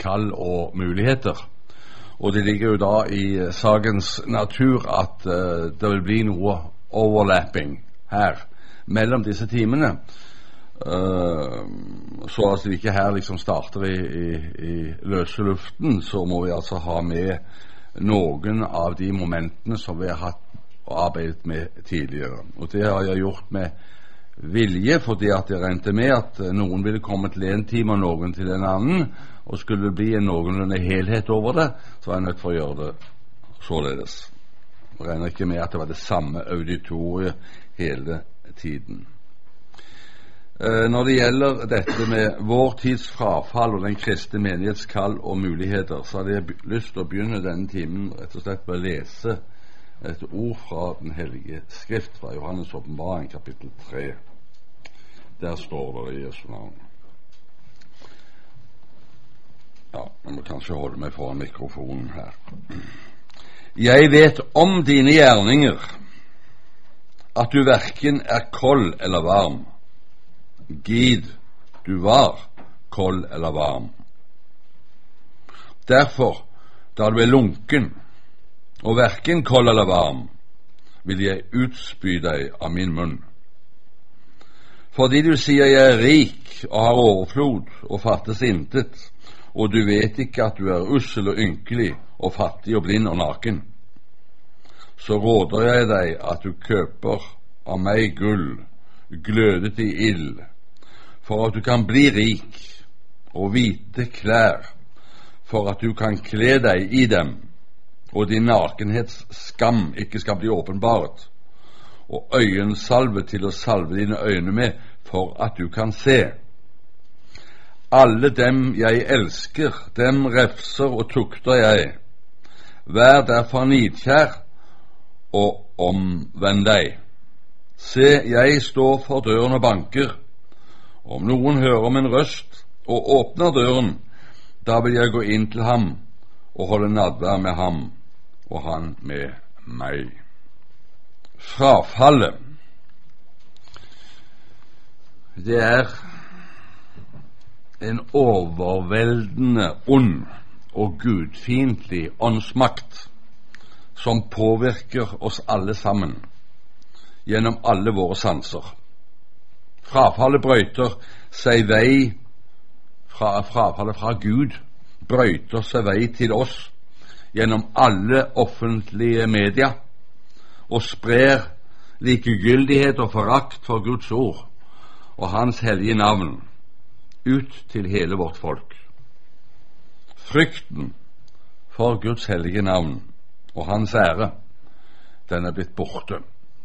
kall og muligheter. Og det ligger jo da i sakens natur at det vil bli noe overlapping her mellom disse timene. Så at vi ikke her liksom starter i løse luften, så må vi altså ha med noen av de momentene som vi har hatt og arbeidet med tidligere. Og det har jeg gjort med vilje, fordi at jeg regnet med at noen ville komme til en time og noen til en annen, og skulle det bli en noenlunde helhet over det, så var jeg nødt for å gjøre det således. Jeg regner ikke med at det var det samme auditoriet hele tiden. Når det gjelder dette med vår tids frafall og den kristne menighets kall og muligheter, så hadde jeg lyst til å begynne denne timen rett og slett med å lese et ord fra den hellige skrift, fra Johannes åpenbaring kapittel 3. Der står det i Jesu navn. Ja, jeg må kanskje holde meg foran mikrofonen her. Jeg vet om dine gjerninger, at du hverken er kold eller varm. Gid du var kold eller varm. Derfor, da du er lunken, og hverken kold eller varm, vil jeg utspy deg av min munn. Fordi du sier jeg er rik og har overflod og fattes intet, og du vet ikke at du er ussel og ynkelig og fattig og blind og naken, så råder jeg deg at du kjøper av meg gull, glødet i ild, for at du kan bli rik, og hvite klær, for at du kan kle deg i dem, og din nakenhets skam ikke skal bli åpenbart, og øyensalve til å salve dine øyne med, for at du kan se. Alle dem jeg elsker, dem refser og tukter jeg. Vær derfor nidkjær, og omvend deg. Se, jeg står for døren og banker. Om noen hører min røst og åpner døren, da vil jeg gå inn til ham og holde nadvær med ham, og han med meg. Frafallet, det er en overveldende ond og gudfiendtlig åndsmakt som påvirker oss alle sammen gjennom alle våre sanser. Frafallet brøyter seg vei frafallet fra Gud brøyter seg vei til oss gjennom alle offentlige medier og sprer likegyldighet og forakt for Guds ord og Hans hellige navn ut til hele vårt folk. Frykten for Guds hellige navn og Hans ære, den er blitt borte.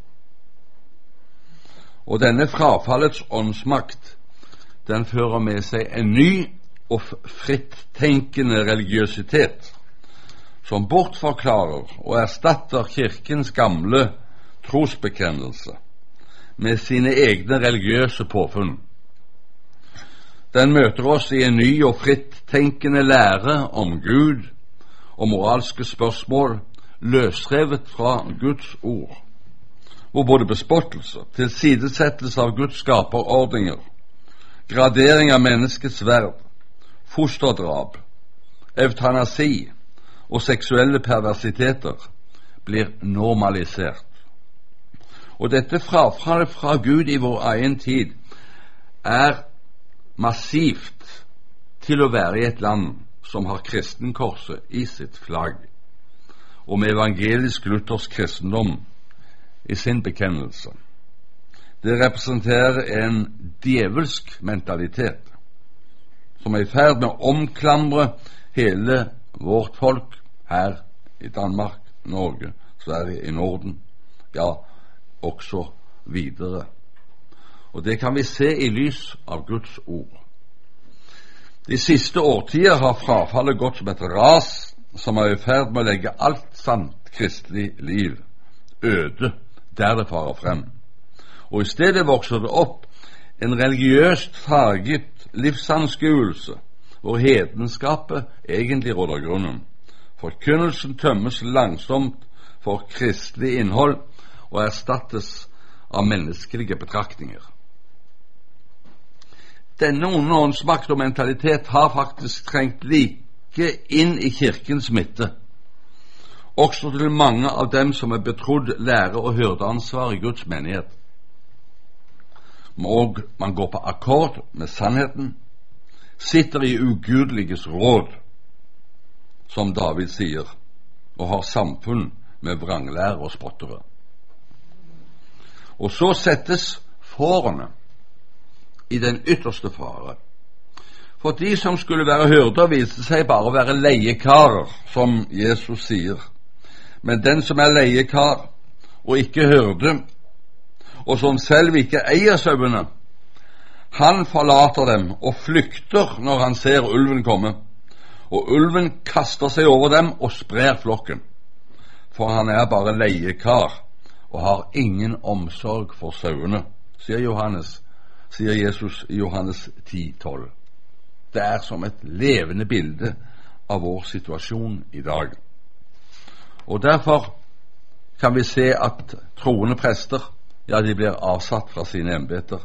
Og denne frafallets åndsmakt, den fører med seg en ny og frittenkende religiøsitet som bortforklarer og erstatter kirkens gamle trosbekjennelse med sine egne religiøse påfunn. Den møter oss i en ny og frittenkende lære om Gud og moralske spørsmål løsrevet fra Guds ord, hvor både bespottelse, tilsidesettelse av Guds skaperordninger, gradering av menneskets verd, fosterdrap, eutanasi og seksuelle perversiteter blir normalisert. Og dette frafallet fra Gud i vår egen tid er massivt til å være i et land som har kristenkorset i sitt flagg, og med evangelisk-luthersk kristendom i sin bekjennelse. Det representerer en djevelsk mentalitet som er i ferd med å omklamre hele vårt folk her i Danmark, Norge, Sverige, i Norden, ja, også videre. Og det kan vi se i lys av Guds ord. De siste årtier har frafallet gått som et ras som er i ferd med å legge alt sant kristelig liv øde der det farer frem. Og i stedet vokser det opp en religiøst farget livsanskuelse hvor hedenskapet egentlig råder grunnen. Forkynnelsen tømmes langsomt for kristelig innhold og erstattes av menneskelige betraktninger. Denne onde åndsmakt og mentalitet har faktisk trengt ikke inn i kirkens midte, også til mange av dem som er betrodd lære- og hyrdeansvar i Guds menighet. Og man går på akkord med sannheten, sitter i ugudeliges råd, som David sier, og har samfunn med vranglære og spottere. Og så settes fårene i den ytterste fare. For de som skulle være hyrder, viste seg bare å være leiekarer, som Jesus sier. Men den som er leiekar og ikke hyrde, og som selv ikke eier sauene, han forlater dem og flykter når han ser ulven komme. Og ulven kaster seg over dem og sprer flokken, for han er bare leiekar og har ingen omsorg for sauene, sier Jesus i Johannes 10:12. Det er som et levende bilde av vår situasjon i dag. Og derfor kan vi se at troende prester, ja, de blir avsatt fra sine embeter,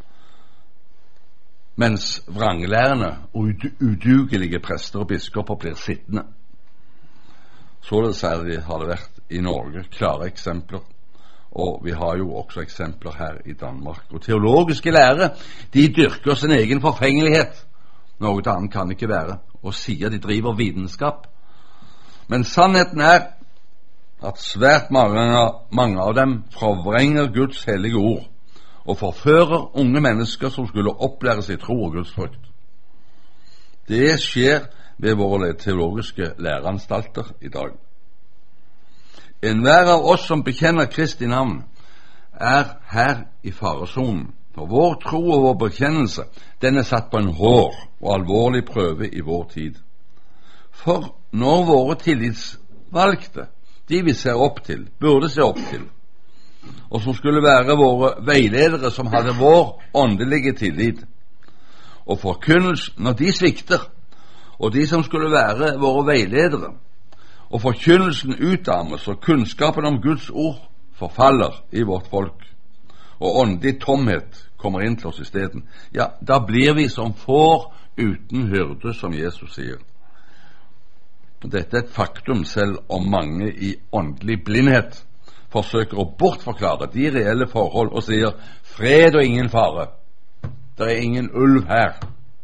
mens vranglærende og udugelige prester og biskoper blir sittende. Således har det vært i Norge klare eksempler, og vi har jo også eksempler her i Danmark. Og teologiske lærere, de dyrker sin egen forfengelighet. Noe annet kan det ikke være, og sier de driver vitenskap. Men sannheten er at svært mange av dem forvrenger Guds hellige ord og forfører unge mennesker som skulle opplæres i tro og Guds frykt. Det skjer ved våre teologiske læreanstalter i dag. Enhver av oss som bekjenner Kristi navn, er her i faresonen, for vår tro og vår bekjennelse, den er satt på en hård og alvorlig prøve i vår tid. For når våre tillitsvalgte, de vi ser opp til, burde se opp til, og som skulle være våre veiledere som hadde vår åndelige tillit, og forkynnelsen, når de svikter, og de som skulle være våre veiledere, og forkynnelsen utarmes, og kunnskapen om Guds ord forfaller i vårt folk, og åndelig tomhet kommer inn til oss i stedet, ja, da blir vi som får uten hyrde, som Jesus sier. Dette er et faktum, selv om mange i åndelig blindhet forsøker å bortforklare de reelle forhold og sier fred og ingen fare. Det er ingen ulv her.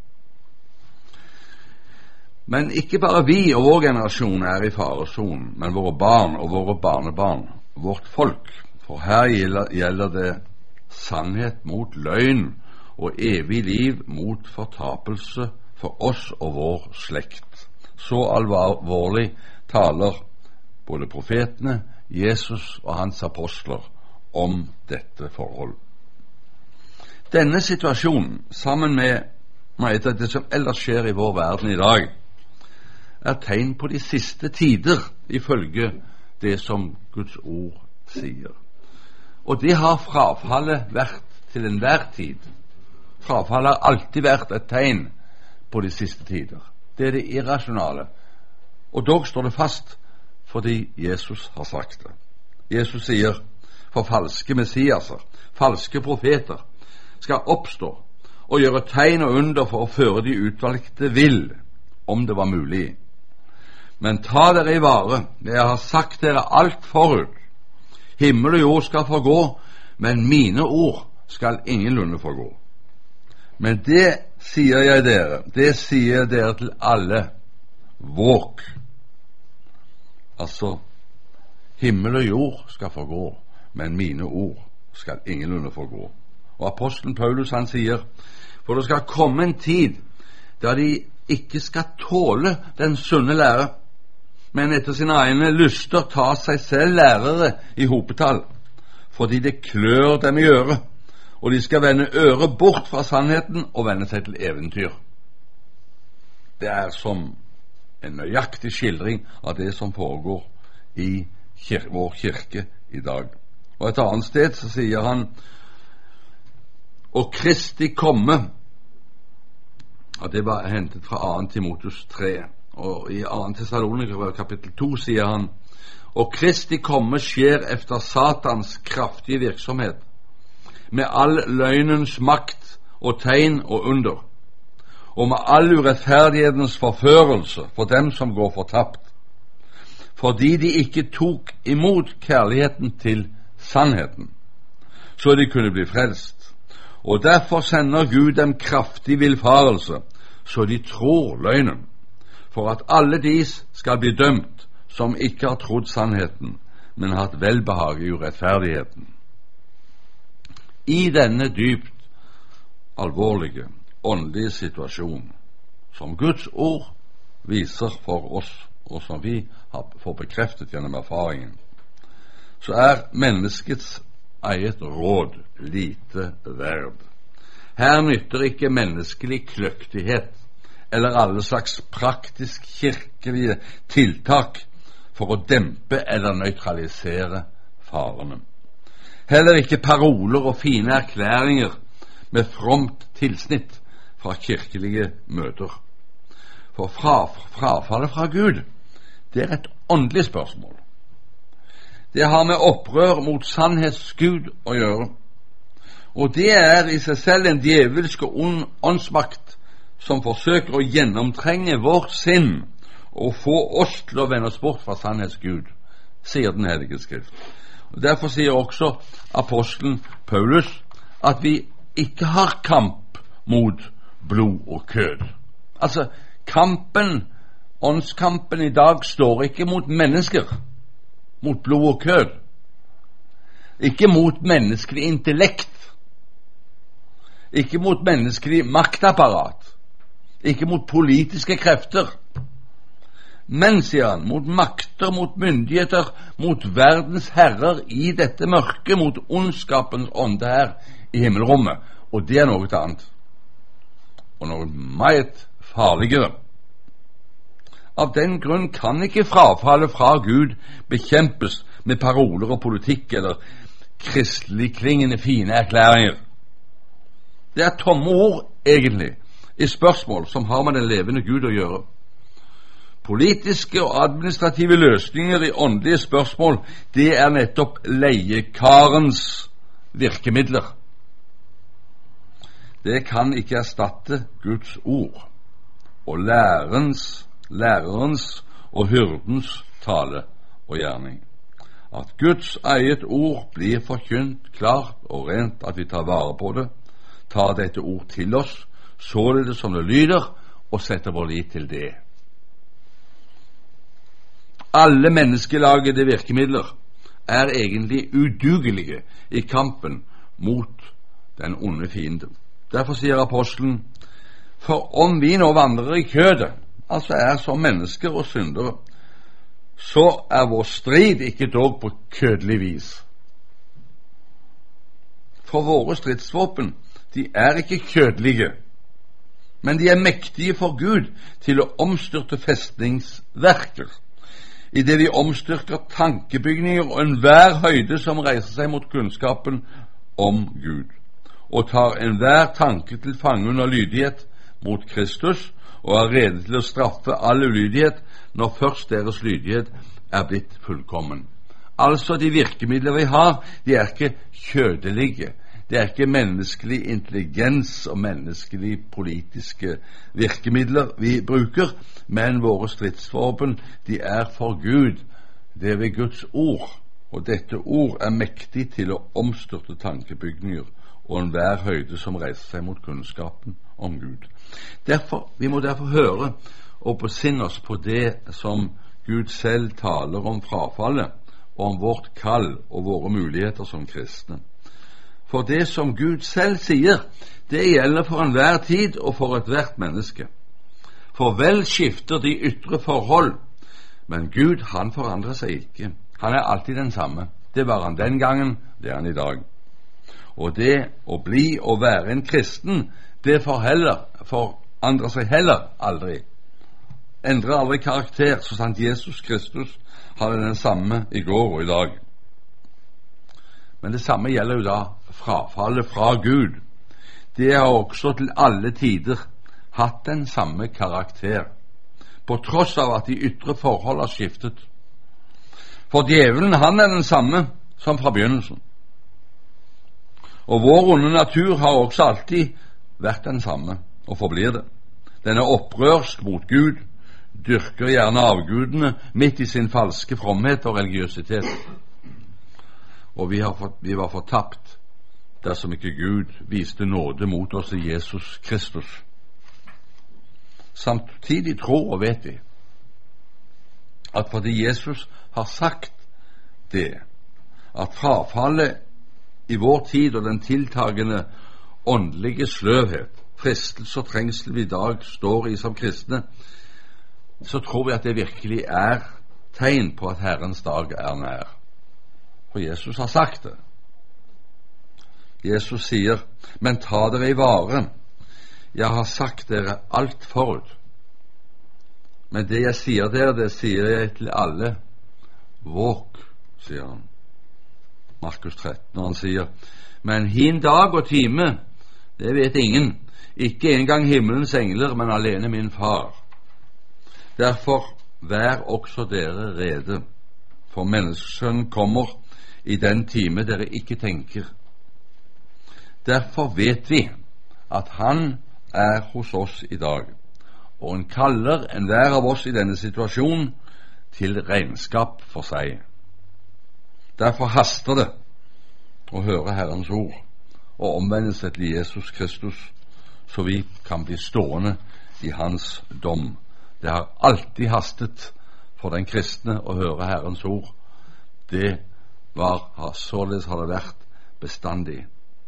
Men ikke bare vi og vår generasjon er i faresonen, men våre barn og våre barnebarn, vårt folk. For her gjelder det sannhet mot løgn og evig liv mot fortapelse for oss og vår slekt. Så alvorlig taler både profetene, Jesus og hans apostler om dette forhold. Denne situasjonen, sammen med det som ellers skjer i vår verden i dag, er tegn på de siste tider, ifølge det som Guds ord sier. Og det har frafallet vært til enhver tid. Frafallet har alltid vært et tegn på de siste tider. Det er det irrasjonale. Og dog står det fast fordi Jesus har sagt det. Jesus sier, for falske messiaser, falske profeter, skal oppstå og gjøre tegn og under for å føre de utvalgte vill, om det var mulig. Men ta dere i vare, jeg har sagt dere alt forut. Himmel og jord skal forgå, men mine ord skal ingenlunde forgå. Men det sier jeg dere, det sier dere til alle, våk. Altså, himmel og jord skal forgå, men mine ord skal ingenlunde forgå. Og apostelen Paulus, han sier, for det skal komme en tid da de ikke skal tåle den sunne lære, men etter sine egne lyster ta seg selv lærere i hopetall, fordi det klør dem i øret, og de skal vende øret bort fra sannheten og vende seg til eventyr. Det er som en nøyaktig skildring av det som foregår i vår kirke i dag. Og et annet sted så sier han, og Kristi komme, og det var hentet fra 2. Timotheus 3, og i 2. Thessaloniker kapittel 2 sier han, og Kristi komme skjer efter Satans kraftige virksomhet, med all løgnens makt og tegn og under, og med all urettferdighetens forførelse for dem som går fortapt, fordi de ikke tok imot kjærligheten til sannheten, så de kunne bli frelst. Og derfor sender Gud dem kraftig villfarelse, så de tror løgnen, for at alle de skal bli dømt som ikke har trodd sannheten, men hatt velbehag i urettferdigheten. I denne dypt alvorlige åndelige situasjon som Guds ord viser for oss, og som vi får bekreftet gjennom erfaringen, så er menneskets eget råd lite verd. Her nytter ikke menneskelig kløktighet eller alle slags praktisk kirkelige tiltak for å dempe eller nøytralisere farene. Heller ikke paroler og fine erklæringer med fromt tilsnitt fra kirkelige møter. For frafallet fra Gud, det er et åndelig spørsmål. Det har med opprør mot sannhetsgud å gjøre, og det er i seg selv en djevelsk åndsmakt som forsøker å gjennomtrenge vårt sinn og få oss til å vende oss bort fra sannhetsgud, sier Den hellige Skrift. Og derfor sier også apostelen Paulus at vi ikke har kamp mot blod og kød. Altså, åndskampen i dag står ikke mot mennesker, mot blod og kød, ikke mot menneskelig intellekt, ikke mot menneskelig maktapparat, ikke mot politiske krefter, men, sier han, mot makter, mot myndigheter, mot verdens herrer i dette mørke, mot ondskapens ånde her i himmelrommet. Og det er noe annet, og noe meget farligere. Av den grunn kan ikke frafallet fra Gud bekjempes med paroler og politikk eller kristelig klingende fine erklæringer. Det er tomme ord, egentlig, i spørsmål som har med den levende Gud å gjøre. Politiske og administrative løsninger i åndelige spørsmål, det er nettopp leiekarens virkemidler. Det kan ikke erstatte Guds ord og lærerens og hyrdens tale og gjerning. At Guds eget ord blir forkynt klart og rent, at vi tar vare på det, tar dette ord til oss, således som det lyder, og setter vår lit til det. Alle menneskelagede virkemidler er egentlig udugelige i kampen mot den onde fienden. Derfor sier apostelen, for om vi nå vandrer i kødet, altså er som mennesker og syndere, så er vår strid ikke dog på kødelig vis. For våre stridsvåpen, de er ikke kødelige, men de er mektige for Gud til å omstyrte festningsverker, i det vi omstyrker tankebygninger og enhver høyde som reiser seg mot kunnskapen om Gud, og tar enhver tanke til fange under lydighet mot Kristus, og er rede til å straffe all ulydighet når først deres lydighet er blitt fullkommen. Altså, de virkemidler vi har, de er ikke kjødelige. Det er ikke menneskelig intelligens og menneskelig politiske virkemidler vi bruker, men våre stridsvåpen, de er for Gud. Det er ved Guds ord, og dette ord er mektig til å omstyrte tankebygninger og enhver høyde som reiser seg mot kunnskapen om Gud. Vi må derfor høre og besinne oss på det som Gud selv taler om frafallet, og om vårt kall og våre muligheter som kristne. For det som Gud selv sier, det gjelder for enhver tid og for ethvert menneske. For vel skifter de ytre forhold, men Gud, han forandrer seg ikke. Han er alltid den samme. Det var han den gangen, det er han i dag. Og det å bli og være en kristen, det forandrer seg heller aldri. Endrer aldri karakter, så sant Jesus Kristus har den samme i går og i dag. Men det samme gjelder jo da frafallet fra Gud. Det har også til alle tider hatt den samme karakter, på tross av at de ytre forhold har skiftet. For djevelen, han er den samme som fra begynnelsen. Og vår onde natur har også alltid vært den samme, og forblir det. Den er opprørsk mot Gud, dyrker gjerne avgudene midt i sin falske fromhet og religiøsitet. Og vi var fortapt dersom ikke Gud viste nåde mot oss i Jesus Kristus. Samtidig tror og vet vi at fordi Jesus har sagt det, at frafallet i vår tid og den tiltagende åndelige sløvhet, fristelse og trengsel vi i dag står i som kristne, så tror vi at det virkelig er tegn på at Herrens dag er nær. For Jesus har sagt det. Jesus sier, men ta dere i vare, jeg har sagt dere alt forut. Men det jeg sier dere, det sier jeg til alle. Våk, sier han. Markus 13, når han sier, men hin dag og time, det vet ingen, ikke engang himmelens engler, men alene min far. Derfor vær også dere rede, for menneskesønnen kommer i den time dere ikke tenker. Derfor vet vi at han er hos oss i dag, og han kaller enhver av oss i denne situasjonen til regnskap for seg. Derfor haster det å høre Herrens ord og omvende seg til Jesus Kristus, så vi kan bli stående i hans dom. Det har alltid hastet for den kristne å høre Herrens ord. Således har det vært bestandig.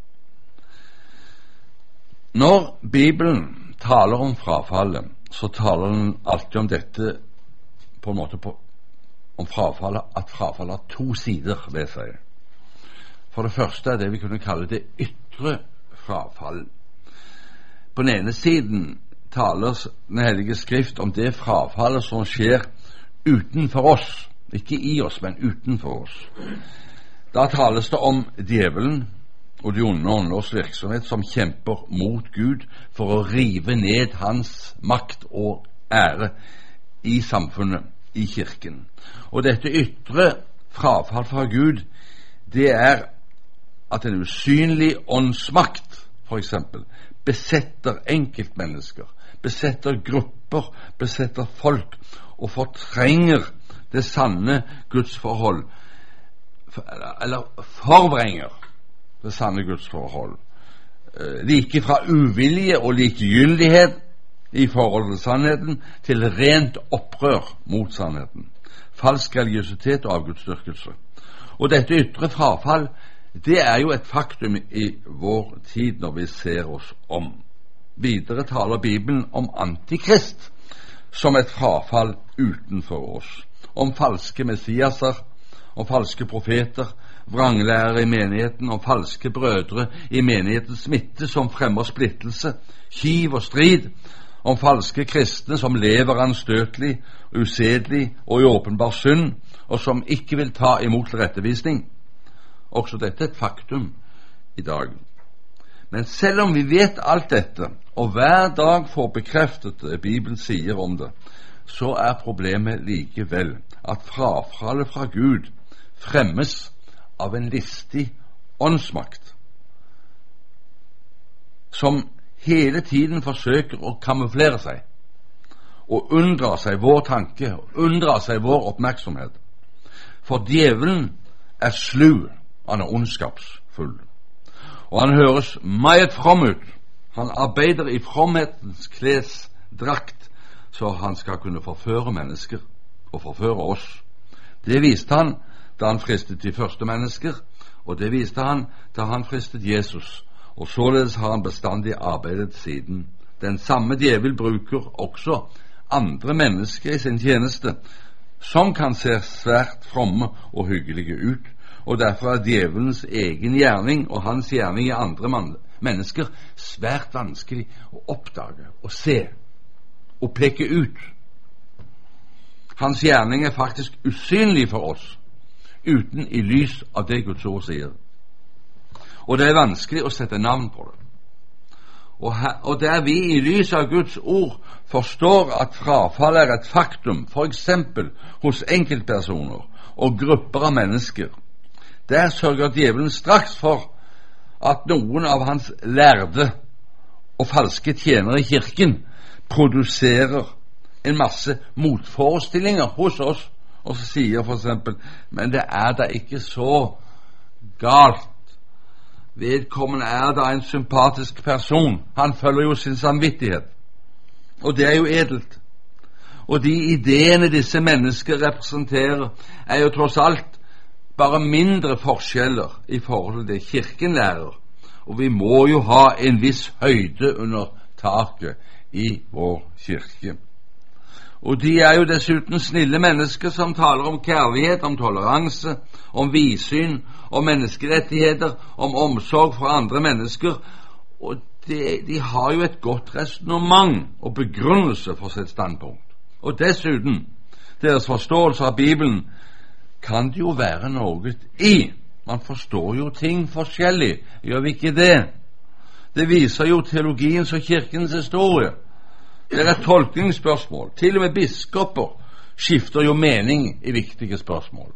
Når Bibelen taler om frafallet, så taler den alltid om dette på en måte om frafallet, at frafallet har to sider ved seg. For det første er det vi kunne kalle det ytre frafall. På den ene siden taler Den hellige skrift om det frafallet som skjer utenfor oss, ikke i oss, men utenfor oss. Da tales det om djevelen og de onde ånders virksomhet som kjemper mot Gud for å rive ned hans makt og ære i samfunnet, i kirken. Og dette ytre frafall fra Gud, det er at en usynlig åndsmakt, for eksempel, besetter enkeltmennesker, besetter grupper, besetter folk, og fortrenger det sanne gudsforhold, eller forvrenger det sanne gudsforhold, like fra uvilje og likegyldighet i forhold til sannheten, til rent opprør mot sannheten, falsk religiøsitet og avgudsdyrkelse. Og dette ytre frafall, det er jo et faktum i vår tid når vi ser oss om. Videre taler Bibelen om antikrist som et frafall utenfor oss, om falske messiaser, om falske profeter, vranglærere i menigheten, om falske brødre i menighetens midte som fremmer splittelse, kiv og strid, om falske kristne som lever anstøtelig, usedelig og i åpenbar synd, og som ikke vil ta imot tilrettevisning. Også dette er et faktum i dag. Men selv om vi vet alt dette, og hver dag får bekreftet det Bibelen sier om det, så er problemet likevel at frafallet fra Gud fremmes av en listig åndsmakt som hele tiden forsøker å kamuflere seg og unndra seg vår tanke, unndra seg vår oppmerksomhet. For djevelen er slu, han er ondskapsfull, og han høres meget from ut. Han arbeider i fromhetens klesdrakt, så han skal kunne forføre mennesker og forføre oss. Det viste han da han fristet de første mennesker, og det viste han da han fristet Jesus, og således har han bestandig arbeidet siden. Den samme djevel bruker også andre mennesker i sin tjeneste, som kan se svært fromme og hyggelige ut, og derfor er djevelens egen gjerning og hans gjerning i andre mennesker svært vanskelig å oppdage og se og peke ut. Hans gjerning er faktisk usynlig for oss, uten i lys av det Guds ord sier. Og det er vanskelig å sette navn på det. Og der vi i lys av Guds ord forstår at frafall er et faktum, for eksempel hos enkeltpersoner og grupper av mennesker, der sørger djevelen straks for at noen av hans lærde og falske tjenere i kirken produserer en masse motforestillinger hos oss, og så sier for eksempel, men det er da ikke så galt. Vedkommende er da en sympatisk person. Han følger jo sin samvittighet. Og det er jo edelt. Og de ideene disse mennesker representerer, er jo tross alt bare mindre forskjeller i forhold til det Kirken lærer. Og vi må jo ha en viss høyde under taket i vår kirke. Og de er jo dessuten snille mennesker som taler om kjærlighet, om toleranse, om vidsyn, om menneskerettigheter, om omsorg for andre mennesker. Og de har jo et godt resonemang og begrunnelse for sitt standpunkt. Og dessuten, deres forståelse av Bibelen kan det jo være noe i. Man forstår jo ting forskjellig, gjør vi ikke det? Det viser jo teologiens og kirkens historie. Det er et tolkningsspørsmål. Til og med biskoper skifter jo mening i viktige spørsmål.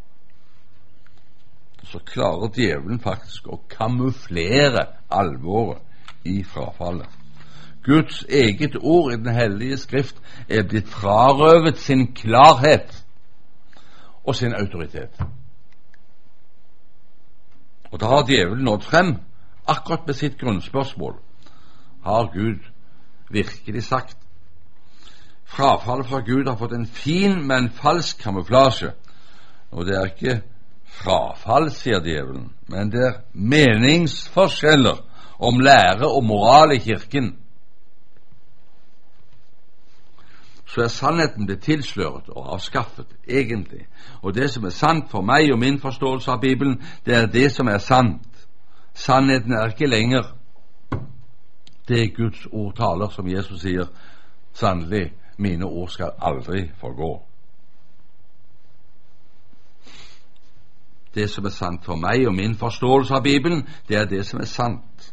Så klarer djevelen faktisk å kamuflere alvoret i frafallet. Guds eget ord i Den hellige skrift er blitt frarøvet sin klarhet og sin autoritet. Og da har djevelen nådd frem akkurat med sitt grunnspørsmål. Har Gud virkelig sagt? Frafallet fra Gud har fått en fin, men falsk kamuflasje. Og det er ikke frafall, sier djevelen, men det er meningsforskjeller om lære og moral i kirken. Så er sannheten blitt tilsløret og avskaffet, egentlig. Og det som er sant for meg og min forståelse av Bibelen, det er det som er sant. Sannheten er ikke lenger det Guds ord taler, som Jesus sier, sannelig, mine ord skal aldri forgå. Det som er sant for meg og min forståelse av Bibelen, det er det som er sant.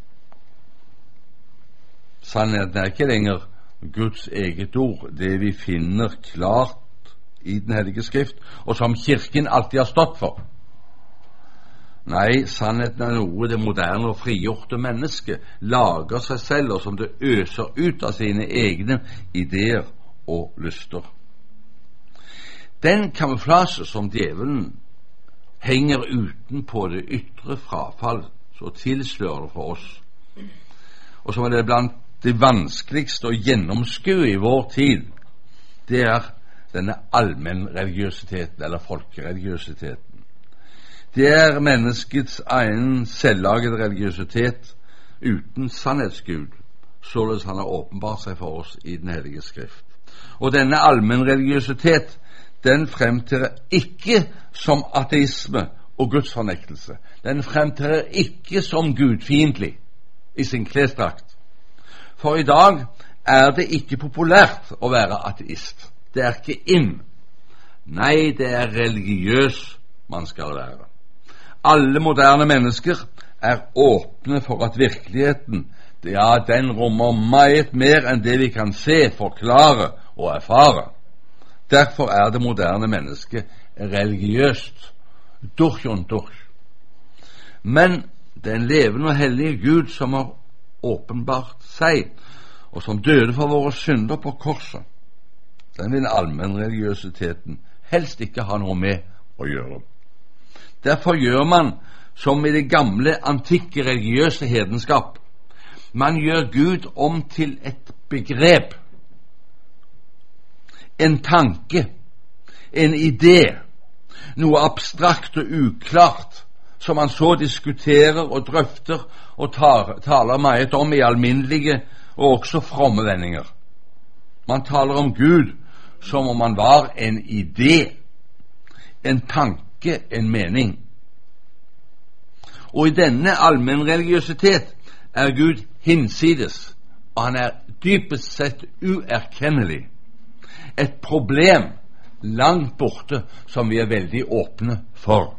Sannheten er ikke lenger Guds eget ord, det vi finner klart i Den hellige skrift, og som kirken alltid har stått for. Nei, sannheten er noe det moderne og frigjorte mennesket lager seg selv, og som det øser ut av sine egne ideer og lyster. Den kamuflasje som djevelen henger utenpå det ytre frafall, så tilslører det for oss, og som er det blant det vanskeligste å gjennomskue i vår tid, det er denne allmennreligiøsiteten, eller folkereligiøsiteten. Det er menneskets egen selvlagede religiøsitet uten sannhetsgud, således han har åpenbart seg for oss i Den hellige skrift. Og denne allmennreligiøsitet, den fremtrer ikke som ateisme og gudsfornektelse. Den fremtrer ikke som gudfiendtlig i sin klesdrakt. For i dag er det ikke populært å være ateist. Det er ikke inn. Nei, det er religiøs man skal være. Alle moderne mennesker er åpne for at virkeligheten, ja, den rommer meget mer enn det vi kan se, forklare og erfare. Derfor er det moderne mennesket religiøst, durch und durch. Men den levende og hellige Gud som har åpenbart seg, og som døde for våre synder på korset, den vil allmennreligiøsiteten helst ikke ha noe med å gjøre. Derfor gjør man som i det gamle, antikke religiøse hedenskap. Man gjør Gud om til et begrep, en tanke, en idé, noe abstrakt og uklart, som man så diskuterer og drøfter og taler meget om i alminnelige og også fromme vendinger. Man taler om Gud som om han var en idé, en tanke, en mening. Og i denne allmennreligiøsitet er Gud hinsides, og han er dypest sett uerkennelig. Et problem langt borte som vi er veldig åpne for.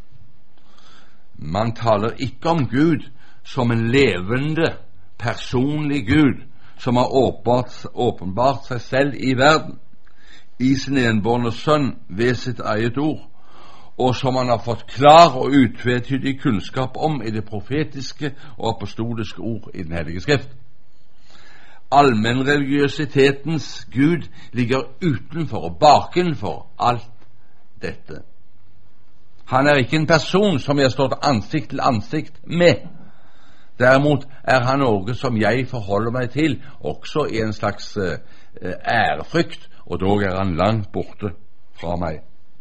Man taler ikke om Gud som en levende, personlig Gud som har åpenbart seg selv i verden, i sin enbårne sønn ved sitt eget ord, og som han har fått klar og utvetydig kunnskap om i det profetiske og apostoliske ord i Den hellige skrift. allmennreligiøsitetens Gud ligger utenfor og bakenfor alt dette. Han er ikke en person som jeg står ansikt til ansikt med. Derimot er han noe som jeg forholder meg til, også i en slags ærefrykt, og dog er han langt borte fra meg.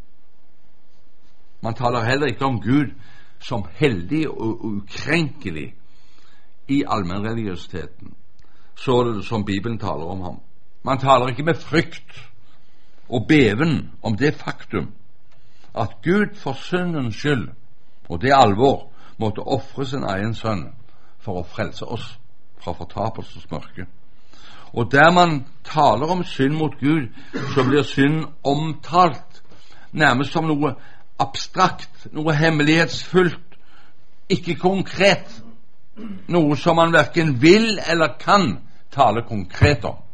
Man taler heller ikke om Gud som hellig og ukrenkelig i allmennreligiøsiteten, så det som Bibelen taler om ham. Man taler ikke med frykt og beven om det faktum at Gud for syndens skyld, og det alvor, måtte ofre sin egen sønn for å frelse oss fra fortapelsens mørke. Og der man taler om synd mot Gud, så blir synd omtalt nærmest som noe abstrakt, noe hemmelighetsfullt, ikke konkret, noe som man hverken vil eller kan tale konkret om.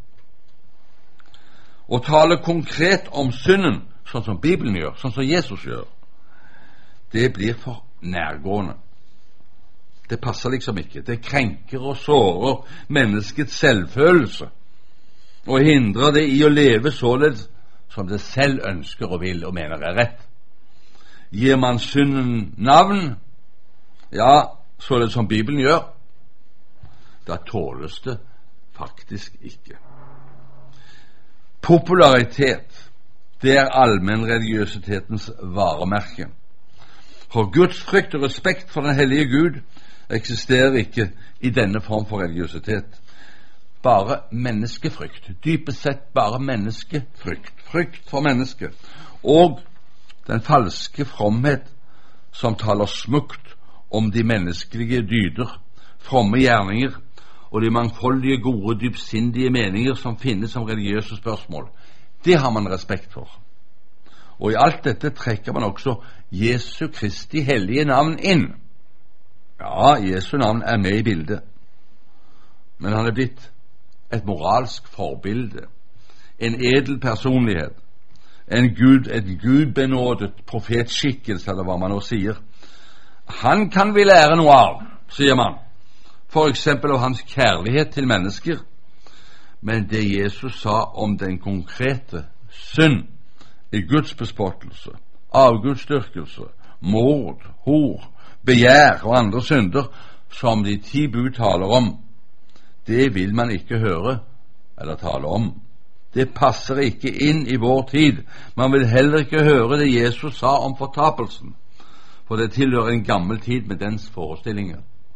Å tale konkret om synden, sånn som Bibelen gjør, sånn som Jesus gjør, det blir for nærgående. Det passer liksom ikke. Det krenker og sårer menneskets selvfølelse og hindrer det i å leve således som det selv ønsker og vil og mener er rett. Gir man synden navn, ja, således som Bibelen gjør, da tåles det faktisk ikke. Popularitet, det er allmennreligiøsitetens varemerke. For Guds frykt og respekt for den hellige Gud eksisterer ikke i denne form for religiøsitet. Bare menneskefrykt, dypest sett bare menneskefrykt, frykt for mennesket, og den falske fromhet som taler smukt om de menneskelige dyder, fromme gjerninger og de mangfoldige, gode, dypsindige meninger som finnes som religiøse spørsmål. Det har man respekt for. Og i alt dette trekker man også Jesu Kristi hellige navn inn. Ja, Jesu navn er med i bildet, men han er blitt et moralsk forbilde, en edel personlighet, en gudbenådet profetskikkelse, eller hva man nå sier. Han kan vi lære noe av, sier man, for eksempel av hans kjærlighet til mennesker, men det Jesus sa om den konkrete synd i Guds bespottelse, avgudsdyrkelse, mord, hor, begjær og andre synder som de 10 bud taler om, det vil man ikke høre eller tale om. Det passer ikke inn i vår tid. Man vil heller ikke høre det Jesus sa om fortapelsen, for det tilhører en gammel tid med dens forestillinger.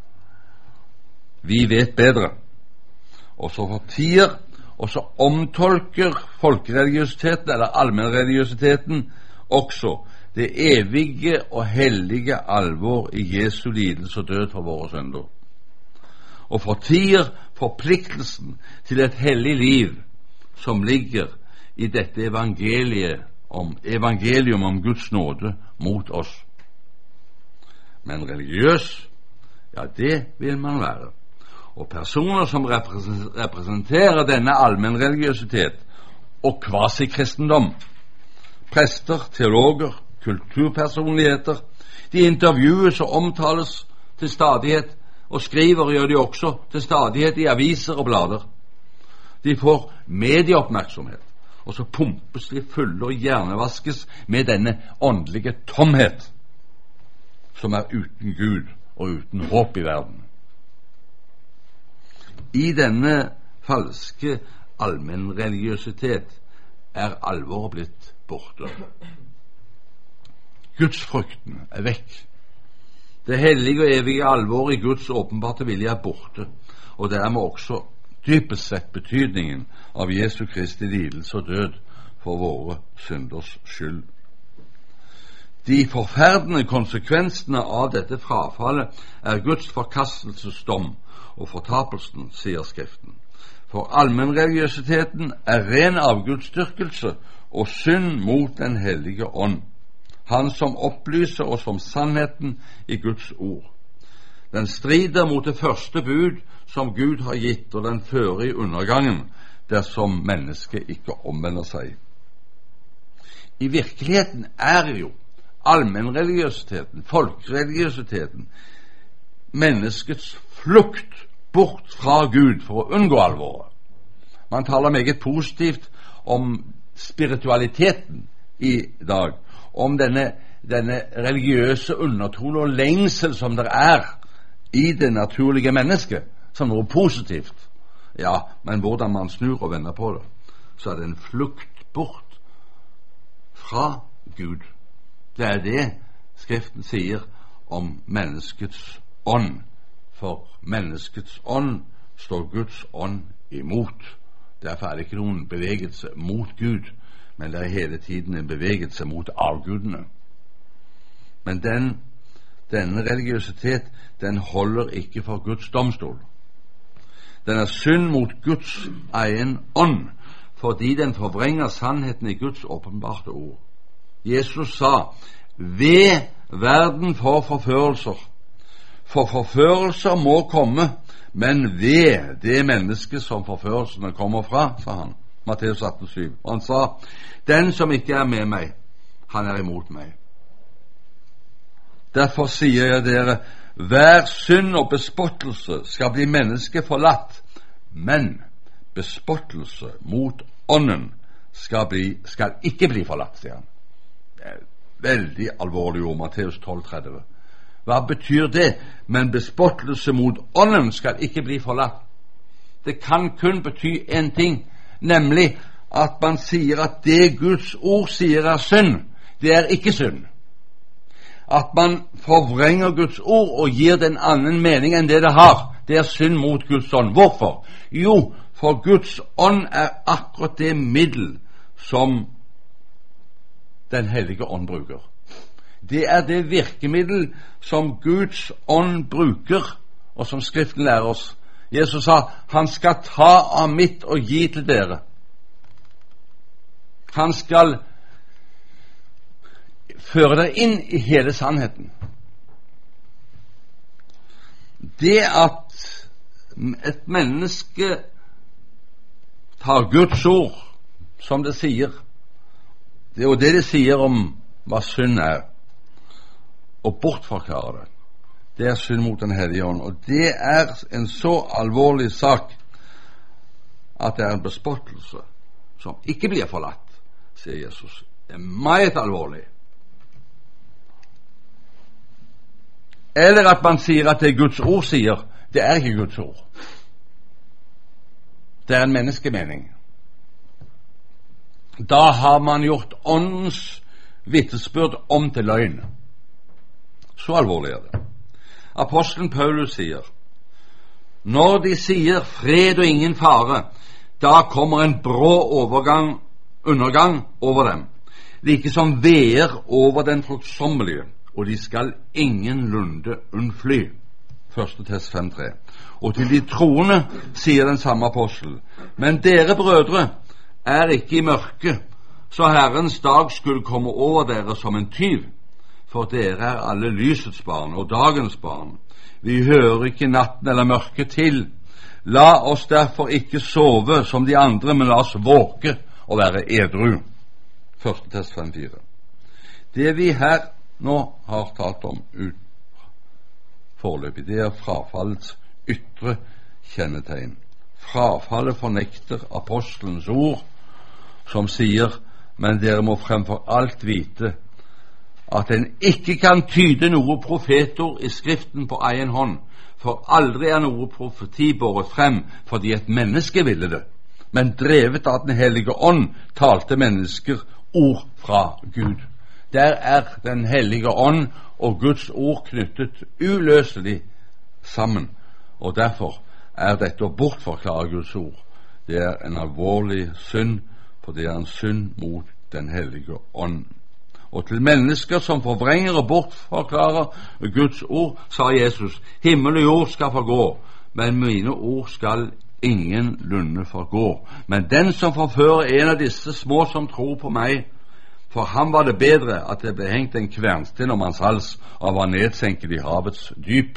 Vi vet bedre, og så fortier og så omtolker folkereligiøsiteten eller allmennreligiøsiteten også det evige og hellige alvor i Jesu lidelse og død for våre synder, og fortier forpliktelsen til et hellig liv som ligger i dette evangelium om Guds nåde mot oss. Men religiøs, ja, det vil man være. Og personer som representerer denne allmennreligiøsitet og kvasikristendom, prester, teologer, kulturpersonligheter, de intervjues og omtales til stadighet, og skriver gjør de også til stadighet i aviser og blader. De får medieoppmerksomhet, og så pumpes de fulle og hjernevaskes med denne åndelige tomhet som er uten Gud og uten håp i verden. I denne falske allmennreligiøsitet er alvoret blitt borte. Gudsfrykten er vekk. Det hellige og evige alvoret i Guds åpenbarte vilje er borte, og dermed også dypest sett betydningen av Jesu Kristi lidelse og død for våre synders skyld. De forferdende konsekvensene av dette frafallet er Guds forkastelsesdom og fortapelsen, sier Skriften. For allmennreligiøsiteten er ren avgudsdyrkelse og synd mot den hellige ånd, han som opplyser oss om sannheten i Guds ord. Den strider mot det første bud som Gud har gitt, og den fører i undergangen dersom mennesket ikke omvender seg. I virkeligheten er jo allmennreligiøsiteten, folkereligiøsiteten, menneskets flukt bort fra Gud for å unngå alvoret. Man taler meget positivt om spiritualiteten i dag, om denne religiøse undertone og lengsel som der er i det naturlige mennesket, som noe positivt. Ja, men hvordan man snur og vender på det, så er det en flukt bort fra Gud. Det er det Skriften sier om menneskets ånd. For menneskets ånd står Guds ånd imot. Derfor er det ikke noen bevegelse mot Gud, men det er hele tiden en bevegelse mot avgudene. Men denne religiøsitet, den holder ikke for Guds domstol. Den er synd mot Guds egen ånd, fordi den forvrenger sannheten i Guds åpenbarte ord. Jesus sa, ved verden for forførelser. For forførelser må komme, men ved det menneske som forførelsene kommer fra, sa han. Matteus 18,7. Og han sa, den som ikke er med meg, han er imot meg. Derfor sier jeg dere, hver synd og bespottelse skal bli mennesket forlatt, men bespottelse mot ånden skal ikke bli forlatt, sier han. Det er veldig alvorlig ord, Matteus 12,30. Hva betyr det? Men bespottelse mot ånden skal ikke bli forlatt. Det kan kun bety en ting, nemlig at man sier at det Guds ord sier er synd, det er ikke synd. At man forvrenger Guds ord og gir den annen mening enn det det har, det er synd mot Guds ånd. Hvorfor? Jo, for Guds ånd er akkurat det middel som Den hellige ånd bruker. Det er det virkemiddel som Guds ånd bruker, og som Skriften lærer oss. Jesus sa, han skal ta av mitt og gi til dere. Han skal føre dere inn i hele sannheten. Det at et menneske tar Guds ord, som det sier, det er jo det sier om hva synd er, og bortforklarer det. Det er synd mot Den hellige ånd, og det er en så alvorlig sak at det er en bespottelse som ikke blir forlatt, sier Jesus. Det er meget alvorlig. Eller at man sier at det Guds ord sier, det er ikke Guds ord. Det er en menneskemening. Da har man gjort åndens vitnesbyrd om til løgn. Så alvorlig er det. Apostelen Paulus sier, når de sier fred og ingen fare, da kommer en brå undergang over dem, like som veer over den fruktsommelige, og de skal ingenlunde unnfly. 1. Tess 5,3. Og til de troende sier den samme apostel, men dere brødre er ikke i mørke, så Herrens dag skulle komme over dere som en tyv, for dere er alle lysets barn og dagens barn. Vi hører ikke natten eller mørket til. La oss derfor ikke sove som de andre, men la oss våke og være edru. 1. Tess 5,4. Det vi her nå har talt om foreløpig, det er frafallets ytre kjennetegn. Frafallet fornekter apostelens ord, som sier, men dere må fremfor alt vite at en ikke kan tyde noe profetord i Skriften på egen hånd, for aldri er noe profeti båret frem fordi et menneske ville det, men drevet av Den hellige ånd talte mennesker ord fra Gud. Der er Den hellige ånd og Guds ord knyttet uløselig sammen, og derfor er dette å bortforklare Guds ord, det er en alvorlig synd, for det er en synd mot Den hellige ånd. Og til mennesker som forvrenger og bortforklarer Guds ord, sa Jesus, himmel og jord skal forgå, men mine ord skal ingenlunde forgå. Men den som forfører en av disse små som tror på meg, for ham var det bedre at det ble hengt en kvernsten om hans hals og var nedsenket i havets dyp.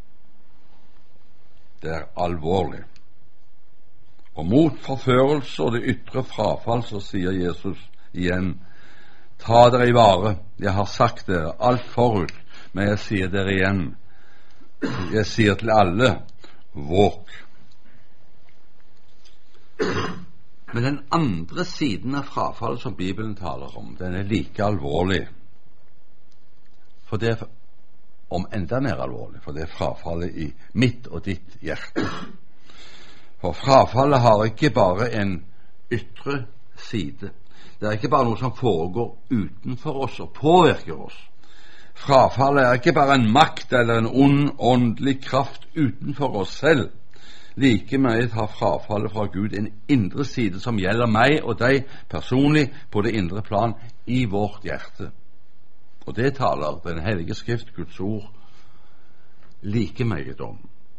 Det er alvorlig. Og mot forførelse og det ytre frafall så sier Jesus igjen, ta dere i vare, jeg har sagt dere alt forut, men jeg sier dere igjen, jeg sier til alle, våk. Men den andre siden av frafallet som Bibelen taler om, den er like alvorlig. For det er om enda mer alvorlig, for det er frafallet i mitt og ditt hjerte. For frafallet har ikke bare en ytre side. Det er ikke bare noe som foregår utenfor oss og påvirker oss. Frafallet er ikke bare en makt eller en ond åndelig kraft utenfor oss selv. Like mye har frafallet fra Gud en indre side som gjelder meg og deg personlig på det indre plan i vårt hjerte. Og det taler Den hellige skrift, Guds ord, like mye om.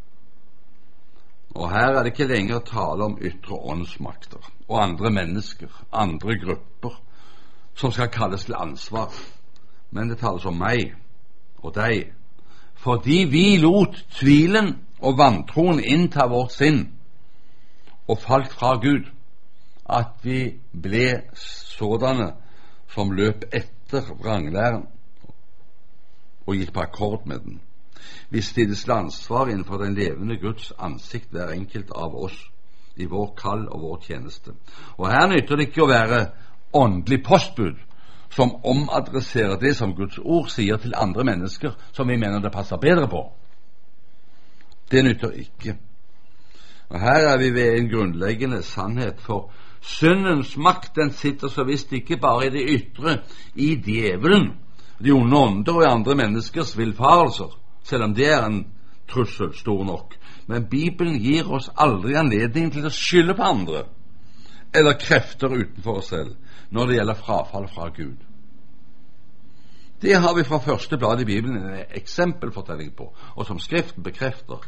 Og her er det ikke lenger tale om ytre åndsmakter og andre mennesker, andre grupper, som skal kalles til ansvar. Men det tales om meg og deg, fordi vi lot tvilen og vantroen innta vårt sinn og falt fra Gud, at vi ble sådanne som løp etter vranglæren og gikk på akkord med den. Vi stilles til ansvar innenfor den levende Guds ansikt, hver enkelt av oss, i vår kall og vår tjeneste. Og her nytter det ikke å være åndelig postbud som omadresserer det som Guds ord sier til andre mennesker som vi mener det passer bedre på. Det nytter ikke. Og her er vi ved en grunnleggende sannhet, for syndens makt, den sitter så visst ikke bare i det ytre, i djevelen, de onde ånder og i andre menneskers villfarelser, selv om det er en trussel stor nok. Men Bibelen gir oss aldri anledning til å skylde på andre eller krefter utenfor oss selv når det gjelder frafall fra Gud. Det har vi fra første blad i Bibelen en eksempelfortelling på, og som Skriften bekrefter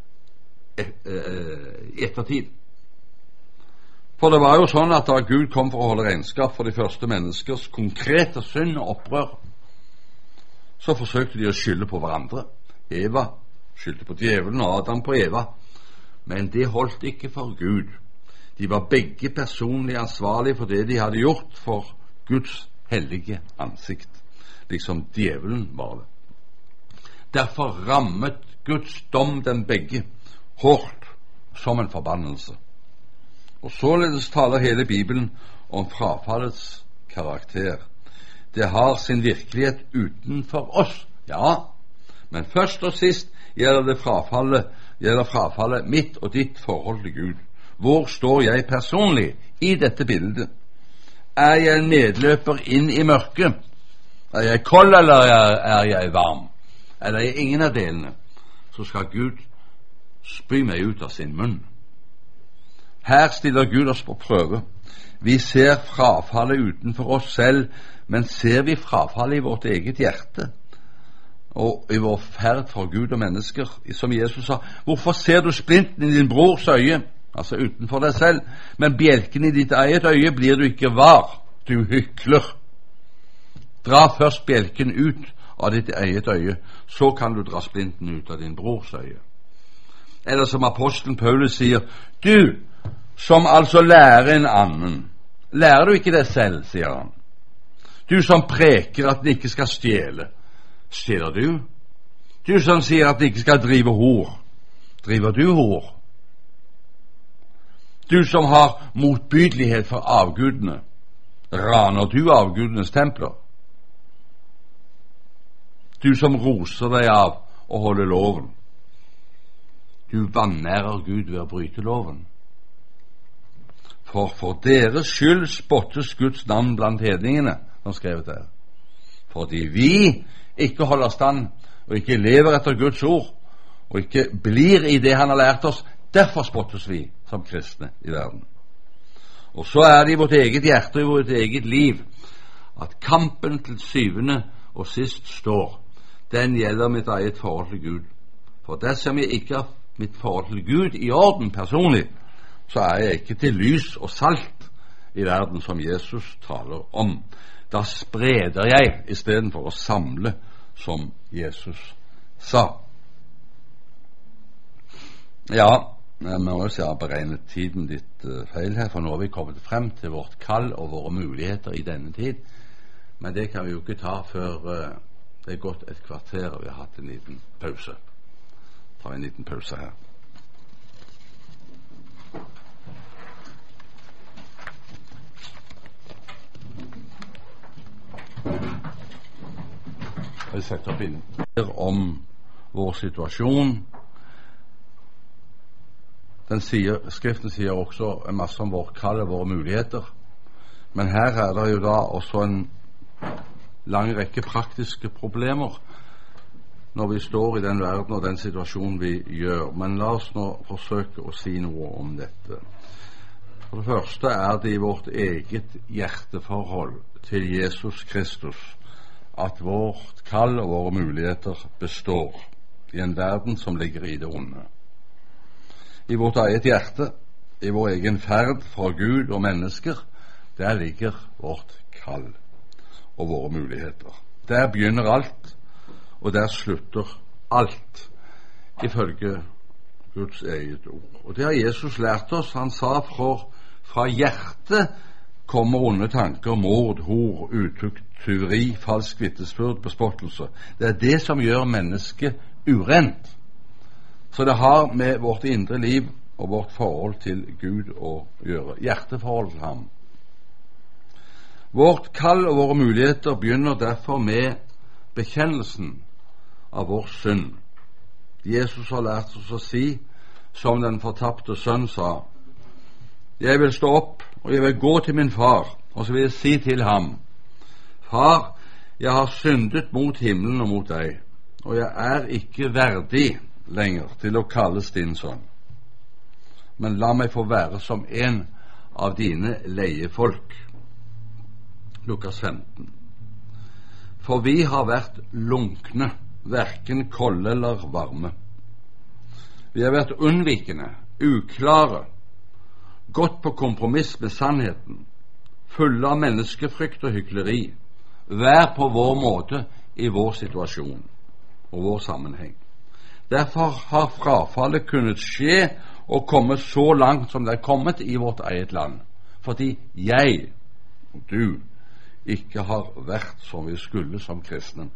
i ettertid. For det var jo sånn at da Gud kom for å holde regnskap for de første menneskers konkrete synd og opprør, så forsøkte de å skylde på hverandre. Eva skyldte på djevelen og Adam på Eva, men det holdt ikke for Gud. De var begge personlig ansvarlige for det de hadde gjort for Guds hellige ansikt, liksom djevelen var det. Derfor rammet Guds dom dem begge hårdt som en forbannelse. Og således taler hele Bibelen om frafallets karakter. Det har sin virkelighet utenfor oss, ja, men først og sist gjelder frafallet mitt og ditt forhold til Gud. Hvor står jeg personlig i dette bildet? Er jeg en medløper inn i mørket? Er jeg kold, eller er jeg varm? Eller er jeg ingen av delene? Så skal Gud spy meg ut av sin munn. Her stiller Gud oss på prøve. Vi ser frafallet utenfor oss selv, men ser vi frafallet i vårt eget hjerte og i vår ferd for Gud og mennesker? Som Jesus sa, hvorfor ser du splinten i din brors øye, altså utenfor deg selv, men bjelken i ditt eget øye blir du ikke var, du hykler. Dra først bjelken ut av ditt eget øye, så kan du dra splinten ut av din brors øye. Eller som apostelen Paulus sier, du som altså lærer en annen, lærer du ikke det selv, sier han. Du som preker at den ikke skal stjele, stjeler du? Du som sier at den ikke skal drive hor, driver du hor? Du som har motbydelighet for avgudene, raner du avgudenes templer? Du som roser deg av å holde loven, du vanærer Gud ved å bryte loven. For deres skyld spottes Guds navn blant hedningene, som skrevet der. Fordi vi ikke holder stand og ikke lever etter Guds ord og ikke blir i det han har lært oss, derfor spottes vi som kristne i verden. Og så er det i vårt eget hjerte og i vårt eget liv at kampen til syvende og sist står. Den gjelder mitt eget forhold til Gud. For dersom jeg ikke har mitt forhold til Gud i orden personlig, så er jeg ikke til lys og salt i verden som Jesus taler om. Da spreder jeg i stedet for å samle, som Jesus sa. Ja, jeg må også ha beregnet tiden litt feil her, for nå har vi kommet frem til vårt kall og våre muligheter i denne tid. Men det kan vi jo ikke ta før det er gått et kvarter og vi har hatt en liten pause. Ta en liten pause her. Jeg setter opp inn om vår situasjon. Skriften sier også en masse om vårt kall og våre muligheter. Men her er det jo da også en lang rekke praktiske problemer når vi står i den verden og den situasjonen vi gjør. Men la oss nå forsøke å si noe om dette. For det første er det i vårt eget hjerteforhold til Jesus Kristus at vårt kall og våre muligheter består i en verden som ligger i det onde. I vårt eget hjerte, i vår egen ferd fra Gud og mennesker, der ligger vårt kall og våre muligheter. Der begynner alt, og der slutter alt, ifølge Guds eget ord. Og det har Jesus lært oss. Han sa fra hjertet kommer onde tanker, mord, hor, utukt, tyveri, falsk vitnesbyrd, bespottelse. Det er det som gjør mennesket urent. Så det har med vårt indre liv og vårt forhold til Gud å gjøre. Hjerteforhold til ham. Vårt kall og våre muligheter begynner derfor med bekjennelsen av vår synd. Jesus har lært oss å si, som den fortapte sønn sa: jeg vil stå opp, og jeg vil gå til min far, og så vil jeg si til ham: Far, jeg har syndet mot himmelen og mot deg, og jeg er ikke verdig lenger til å kalles din sønn. Men la meg få være som en av dine leiefolk. Lukas 15. For vi har vært lunkne, hverken kolde eller varme. Vi har vært unnvikende, uklare, gått på kompromiss med sannheten, fulle av menneskefrykt og hykleri, hver på vår måte i vår situasjon og vår sammenheng. Derfor har frafallet kunnet skje og komme så langt som det er kommet i vårt eget land, fordi jeg og du ikke har vært som vi skulle som kristne.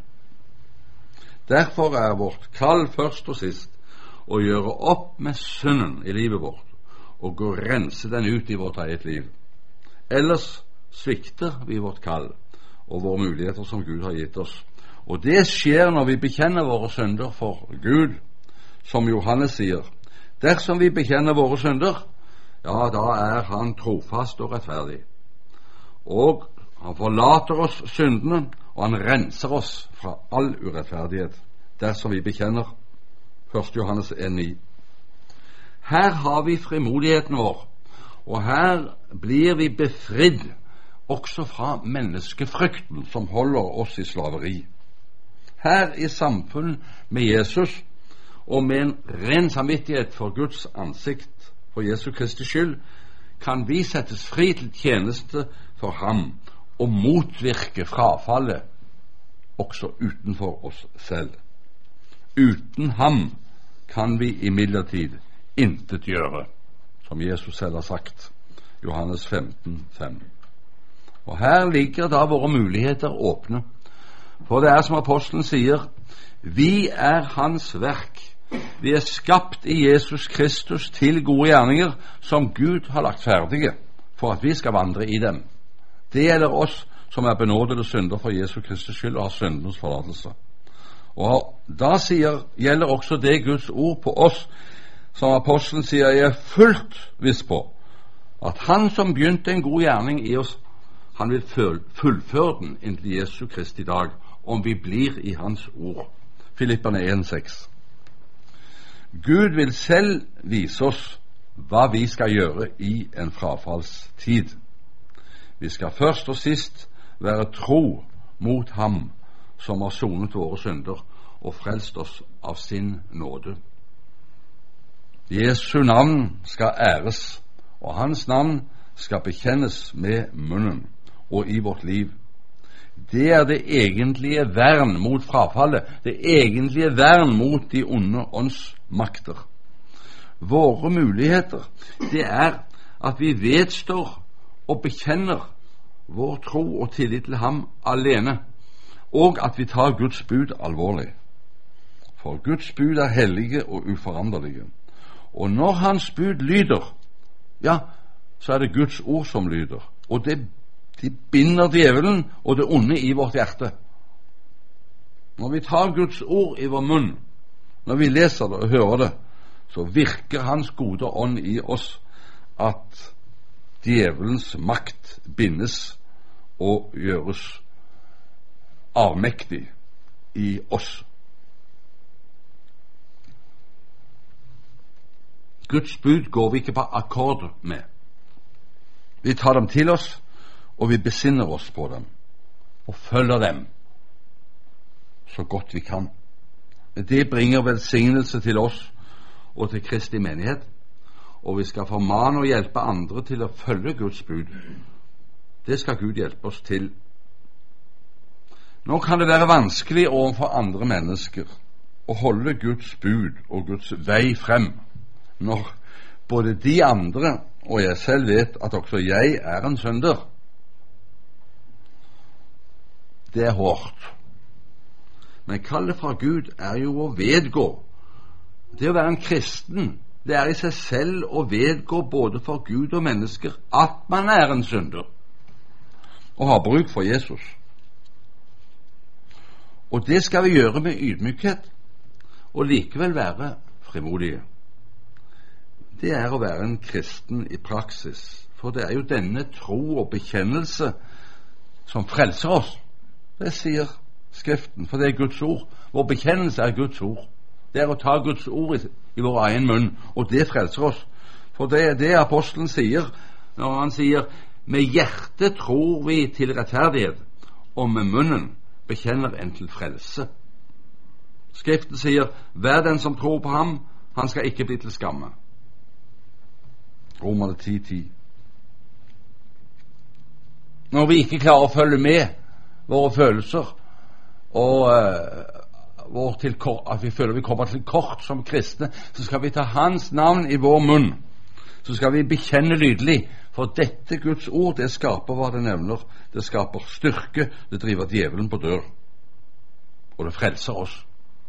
Derfor er vårt kall først og sist å gjøre opp med synden i livet vårt og gå og rense den ut i vårt eget liv. Ellers svikter vi vårt kall og våre muligheter som Gud har gitt oss. Og det skjer når vi bekjenner våre synder for Gud, som Johannes sier: dersom vi bekjenner våre synder, ja, da er han trofast og rettferdig. Og han forlater oss syndene, og han renser oss fra all urettferdighet, dersom vi bekjenner. 1. Johannes 1,9. Her har vi frimodigheten vår, og her blir vi befridd også fra menneskefrykten som holder oss i slaveri. Her i samfunn med Jesus og med en ren samvittighet for Guds ansikt, for Jesu Kristi skyld, kan vi settes fri til tjeneste for ham og motvirke frafallet også utenfor oss selv. Uten ham kan vi imidlertid intet gjøre, som Jesus selv har sagt, Johannes 15,5. Og her ligger da våre muligheter åpne, for det er som apostelen sier: vi er hans verk, vi er skapt i Jesus Kristus til gode gjerninger som Gud har lagt ferdige for at vi skal vandre i dem. Det gjelder oss som er benådede synder for Jesu Kristus skyld og har syndenes forlatelse. Og da gjelder også det Guds ord på oss, som apostelen sier: jeg er fullt viss på at han som begynte en god gjerning i oss, han vil fullføre den inntil Jesu Kristi dag, om vi blir i hans ord. Filipperne 1,6. Gud vil selv vise oss hva vi skal gjøre i en frafallstid. Vi skal først og sist være tro mot ham som har sonet våre synder og frelst oss av sin nåde. Jesu navn skal æres, og hans navn skal bekjennes med munnen og i vårt liv. Det er det egentlige vern mot frafallet, det egentlige vern mot de onde åndsmakter. Våre muligheter, det er at vi vedstår og bekjenner vår tro og tillit til ham alene, og at vi tar Guds bud alvorlig. For Guds bud er hellige og uforanderlige. Og når hans bud lyder, ja, så er det Guds ord som lyder, og de binder djevelen og det onde i vårt hjerte. Når vi tar Guds ord i vår munn, når vi leser det og hører det, så virker Hans gode ånd i oss at djevelens makt bindes og gjøres avmektig i oss. Guds bud går vi ikke på akkord med. Vi tar dem til oss, og vi besinner oss på dem, og følger dem så godt vi kan. Det bringer velsignelse til oss og til Kristi menighet, og vi skal formane og hjelpe andre til å følge Guds bud. Det skal Gud hjelpe oss til. Nå kan det være vanskelig overfor andre mennesker å holde Guds bud og Guds vei frem, når både de andre og jeg selv vet at også jeg er en synder. Det er hårdt. Men kallet fra Gud er jo å vedgå. Det å være en kristen, det er i seg selv å vedgå både for Gud og mennesker at man er en synder og har bruk for Jesus. Og det skal vi gjøre med ydmykhet og likevel være frimodige. Det er å være en kristen i praksis, for det er jo denne tro og bekjennelse som frelser oss. Det sier Skriften, for det er Guds ord. Vår bekjennelse er Guds ord. Det er å ta Guds ord i vår egen munn, og det frelser oss. For det er det apostelen sier når han sier med hjertet tror vi til rettferdighet, og med munnen bekjenner en til frelse. Skriften sier hver den som tror på ham, han skal ikke bli til skamme. Romerne 10:10. Når vi ikke klarer å følge med våre følelser og at vi føler vi kommer til kort som kristne, så skal vi ta Hans navn i vår munn. Så skal vi bekjenne lydelig, for dette Guds ord, det skaper hva det nevner. Det skaper styrke, det driver djevelen på dør, og det frelser oss.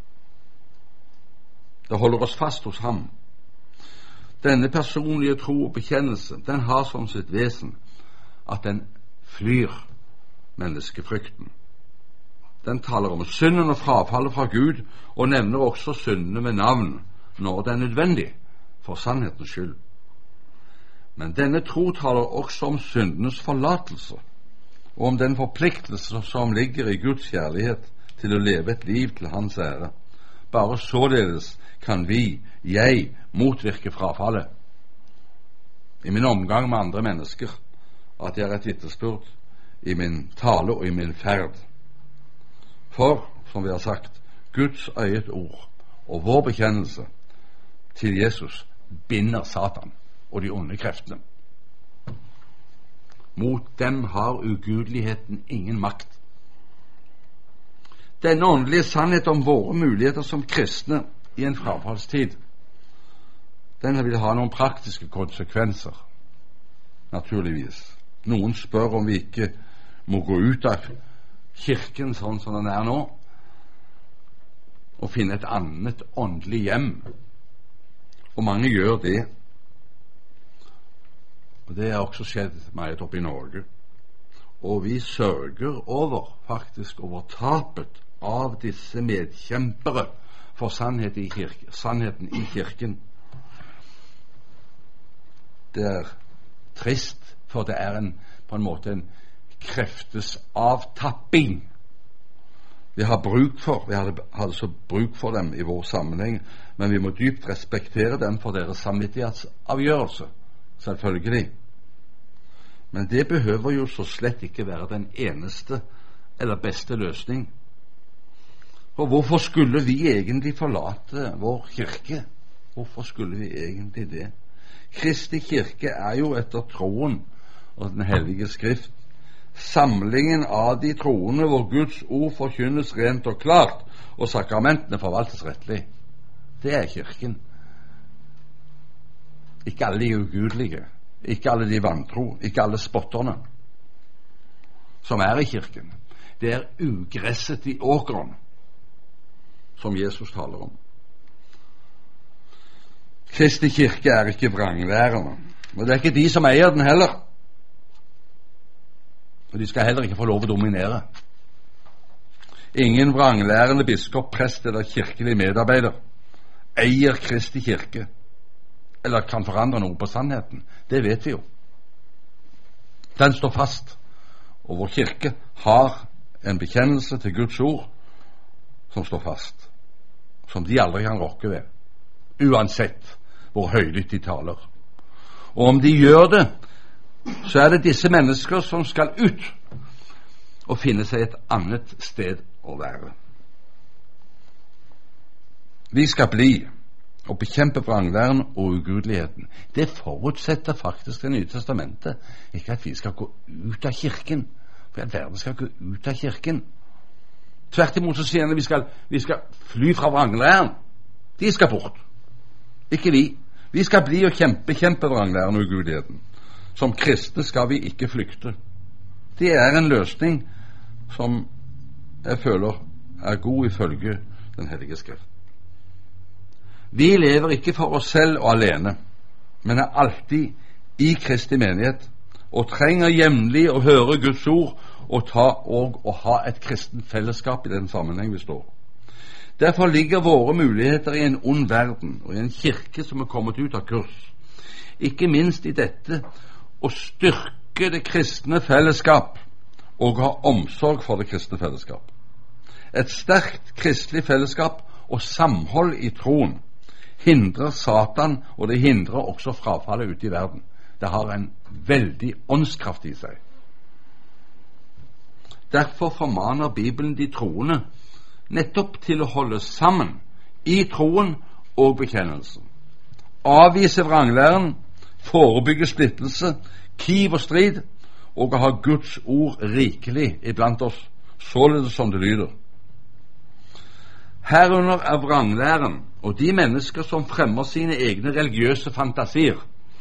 Det holder oss fast hos ham. Denne personlige tro og bekjennelse, den har som sitt vesen at den flyr menneskefrykten. Den taler om synden og frafallet fra Gud, og nevner også syndene med navn når det er nødvendig, for sannhetens skyld. Men denne tro taler også om syndenes forlatelse, og om den forpliktelse som ligger i Guds kjærlighet til å leve et liv til Hans ære. Bare således kan jeg, motvirke frafallet. I min omgang med andre mennesker, at jeg er et vitnesbyrd i min tale og i min ferd. For, som vi har sagt, Guds eget ord og vår bekjennelse til Jesus binder Satan og de onde kreftene. Mot dem har ugudeligheten ingen makt. Denne åndelige sannhet om våre muligheter som kristne i en frafallstid, den vil ha noen praktiske konsekvenser, naturligvis. Noen spør om vi ikke må gå ut av kirken sånn som den er nå, og finne et annet åndelig hjem. Og mange gjør det. Og det har også skjedd meget oppe i Norge. Og vi sørger faktisk over tapet av disse medkjempere for sannheten i kirken. Det er trist, for det er på en måte en kreftes avtapping vi hadde så bruk for dem i vår sammenheng, men vi må dypt respektere dem for deres samvittighetsavgjørelse, selvfølgelig. Men det behøver jo så slett ikke være den eneste eller beste løsning. For hvorfor skulle vi egentlig forlate vår kirke? Hvorfor skulle vi egentlig det? Kristi kirke er jo etter troen og Den hellige Skrift samlingen av de troende hvor Guds ord forkynnes rent og klart, og sakramentene forvaltes rettelig. Det er kirken. Ikke alle de ugudelige, ikke alle de vantro, ikke alle spotterne som er i kirken. Det er ugresset i åkeren som Jesus taler om. Kristi kirke er ikke vrangværende, og det er ikke de som eier den heller. Og de skal heller ikke få lov å dominere. Ingen vranglærende biskop, prest eller kirkelig medarbeider eier Kristi kirke, eller kan forandre noe på sannheten. Det vet vi jo. Den står fast, og vår kirke har en bekjennelse til Guds ord som står fast, som de aldri kan rokke ved, uansett hvor høylytt de taler. Og om de gjør det, så er det disse mennesker som skal ut og finne seg et annet sted å være. Vi skal bli og bekjempe vranglæren og ugudeligheten. Det forutsetter faktisk Det nye testamentet. Ikke at vi skal gå ut av kirken, for at verden skal gå ut av kirken. Tvert imot så sier han at vi skal fly fra vranglæren. De skal bort, ikke vi. Vi skal bli og bekjempe vranglæren og ugudeligheten. Som kristne skal vi ikke flykte. Det er en løsning som jeg føler er god ifølge Den hellige skrift. Vi lever ikke for oss selv og alene, men er alltid i Kristi menighet og trenger jevnlig å høre Guds ord og ha et kristent fellesskap i den sammenheng vi står. Derfor ligger våre muligheter i en ond verden og i en kirke som er kommet ut av kurs. Ikke minst i dette å styrke det kristne fellesskap og ha omsorg for det kristne fellesskap. Et sterkt kristelig fellesskap og samhold i troen hindrer Satan, og det hindrer også frafallet ute i verden. Det har en veldig åndskraft i seg. Derfor formaner Bibelen de troende nettopp til å holde sammen i troen og bekjennelsen. Avvise vranglæren, forebygge splittelse, kiv og strid, og å ha Guds ord rikelig iblant oss, således som det lyder. Herunder er vranglæren og de mennesker som fremmer sine egne religiøse fantasier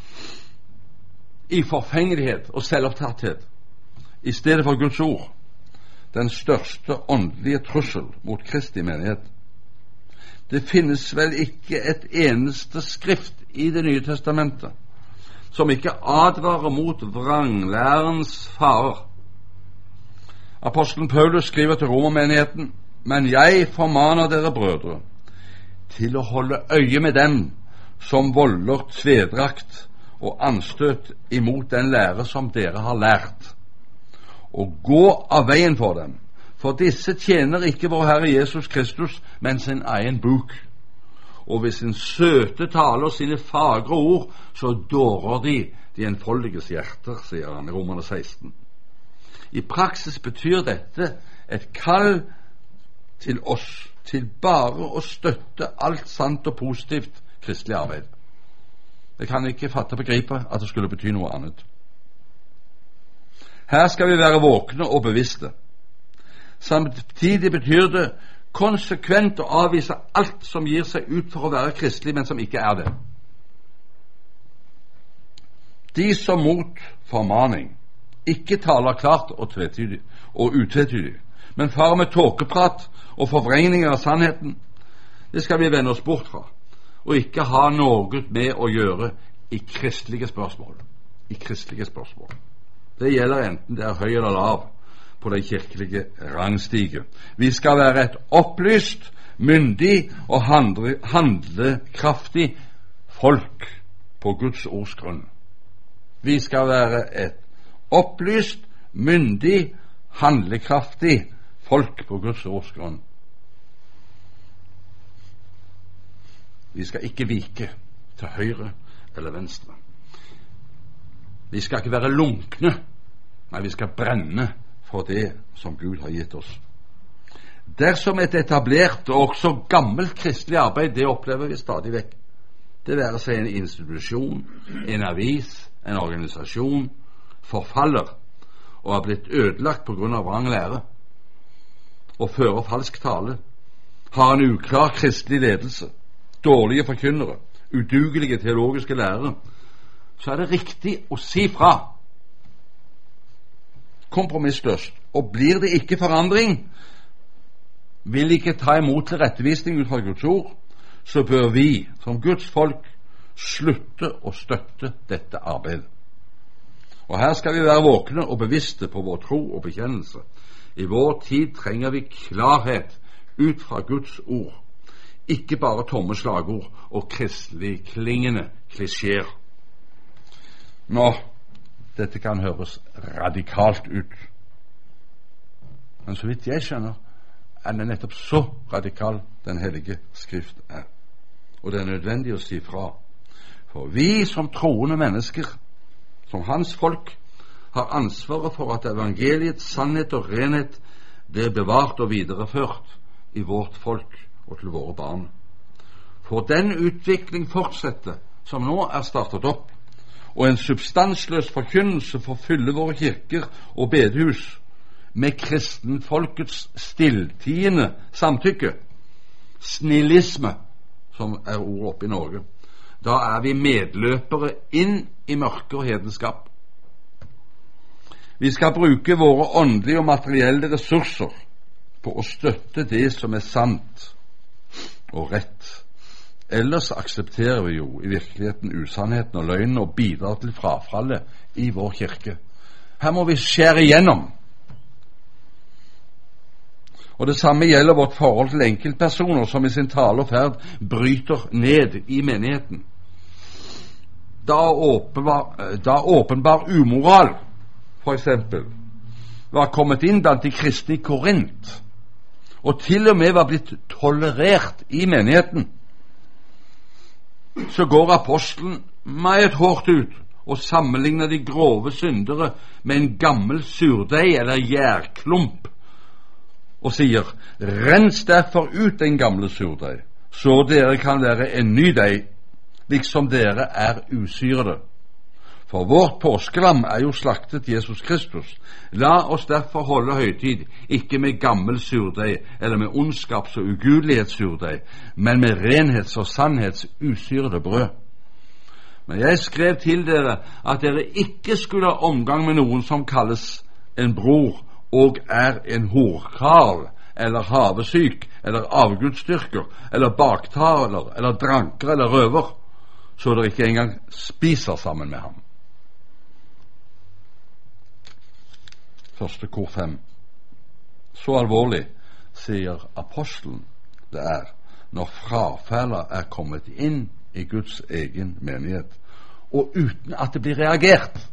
i forfengelighet og selvopptatthet i stedet for Guds ord, den største åndelige trussel mot Kristi menighet. Det finnes vel ikke et eneste skrift i Det nye testamentet som ikke advarer mot vranglærens farer. Apostelen Paulus skriver til romermenigheten: men jeg formaner dere, brødre, til å holde øye med dem som volder tvedrakt og anstøt imot den lære som dere har lært, og gå av veien for dem, for disse tjener ikke vår Herre Jesus Kristus, men sin egen buk. Og ved sin søte tale og sine fagre ord, så dårer de enfoldiges hjerter, sier han i Romerne 16. I praksis betyr dette et kall til oss til bare å støtte alt sant og positivt kristelig arbeid. Jeg kan ikke fatte og begripe at det skulle bety noe annet. Her skal vi være våkne og bevisste. Samtidig betyr det konsekvent å avvise alt som gir seg ut for å være kristelig, men som ikke er det. De som mot formaning ikke taler klart og utvetydig, men farer med tåkeprat og forvrengninger av sannheten, det skal vi vende oss bort fra, og ikke ha noe med å gjøre i kristelige spørsmål. Det gjelder enten det er høy eller lav på den kirkelige rangstige. Vi skal være et opplyst, myndig og handlekraftig folk på Guds ords grunn. Vi skal være et opplyst, myndig, handlekraftig folk på Guds ords grunn. Vi skal ikke vike til høyre eller venstre. Vi skal ikke være lunkne, men vi skal brenne for det som Gud har gitt oss. Dersom et etablert og også gammelt kristelig arbeid, det opplever vi stadig vekk, det være seg en institusjon, en avis, en organisasjon, forfaller og har blitt ødelagt på grunn av vrang lære og fører falsk tale, har en uklar kristelig ledelse, dårlige forkynnere, udugelige teologiske lærere, så er det riktig å si fra kompromissløst. Og blir det ikke forandring, vil ikke ta imot tilrettevisning ut fra Guds ord, så bør vi som Guds folk slutte å støtte dette arbeidet. Og her skal vi være våkne og bevisste på vår tro og bekjennelse. I vår tid trenger vi klarhet ut fra Guds ord, ikke bare tomme slagord og kristelig klingende klisjeer. Nå, dette kan høres radikalt ut, men så vidt jeg skjønner, er det nettopp så radikal Den hellige Skrift er. Og det er nødvendig å si fra. For vi som troende mennesker, som hans folk, har ansvaret for at evangeliets sannhet og renhet blir bevart og videreført i vårt folk og til våre barn. For den utvikling fortsetter som nå er startet opp, og en substansløs forkynnelse får fylle våre kirker og bedehus med kristenfolkets stilltiende samtykke, snillisme, som er ordet oppe i Norge, da er vi medløpere inn i mørke og hedenskap. Vi skal bruke våre åndelige og materielle ressurser på å støtte det som er sant og rett. Ellers aksepterer vi jo i virkeligheten usannheten og løgnen og bidrar til frafallet i vår kirke. Her må vi skjære igjennom. Og det samme gjelder vårt forhold til enkeltpersoner som i sin tale og ferd bryter ned i menigheten. Da åpenbar umoral, for eksempel, var kommet inn blant de kristne i Korint, og til og med var blitt tolerert i menigheten, så går apostelen meget hårdt ut og sammenligner de grove syndere med en gammel surdeig eller gjærklump, og sier: rens derfor ut den gamle surdeig, så dere kan være en ny deig, liksom dere er usyrede. For vårt påskelam er jo slaktet Jesus Kristus. La oss derfor holde høytid, ikke med gammel surdeig eller med ondskaps- og ugudelighetssurdeig, men med renhets- og sannhets usyrede brød. Men jeg skrev til dere at dere ikke skulle ha omgang med noen som kalles en bror og er en horkarl, eller havesyk, eller avgudsdyrker, eller baktaler, eller dranker, eller røver, så dere ikke engang spiser sammen med ham. Første kor 5. Så alvorlig, sier apostelen, det er når frafallet er kommet inn i Guds egen menighet, og uten at det blir reagert.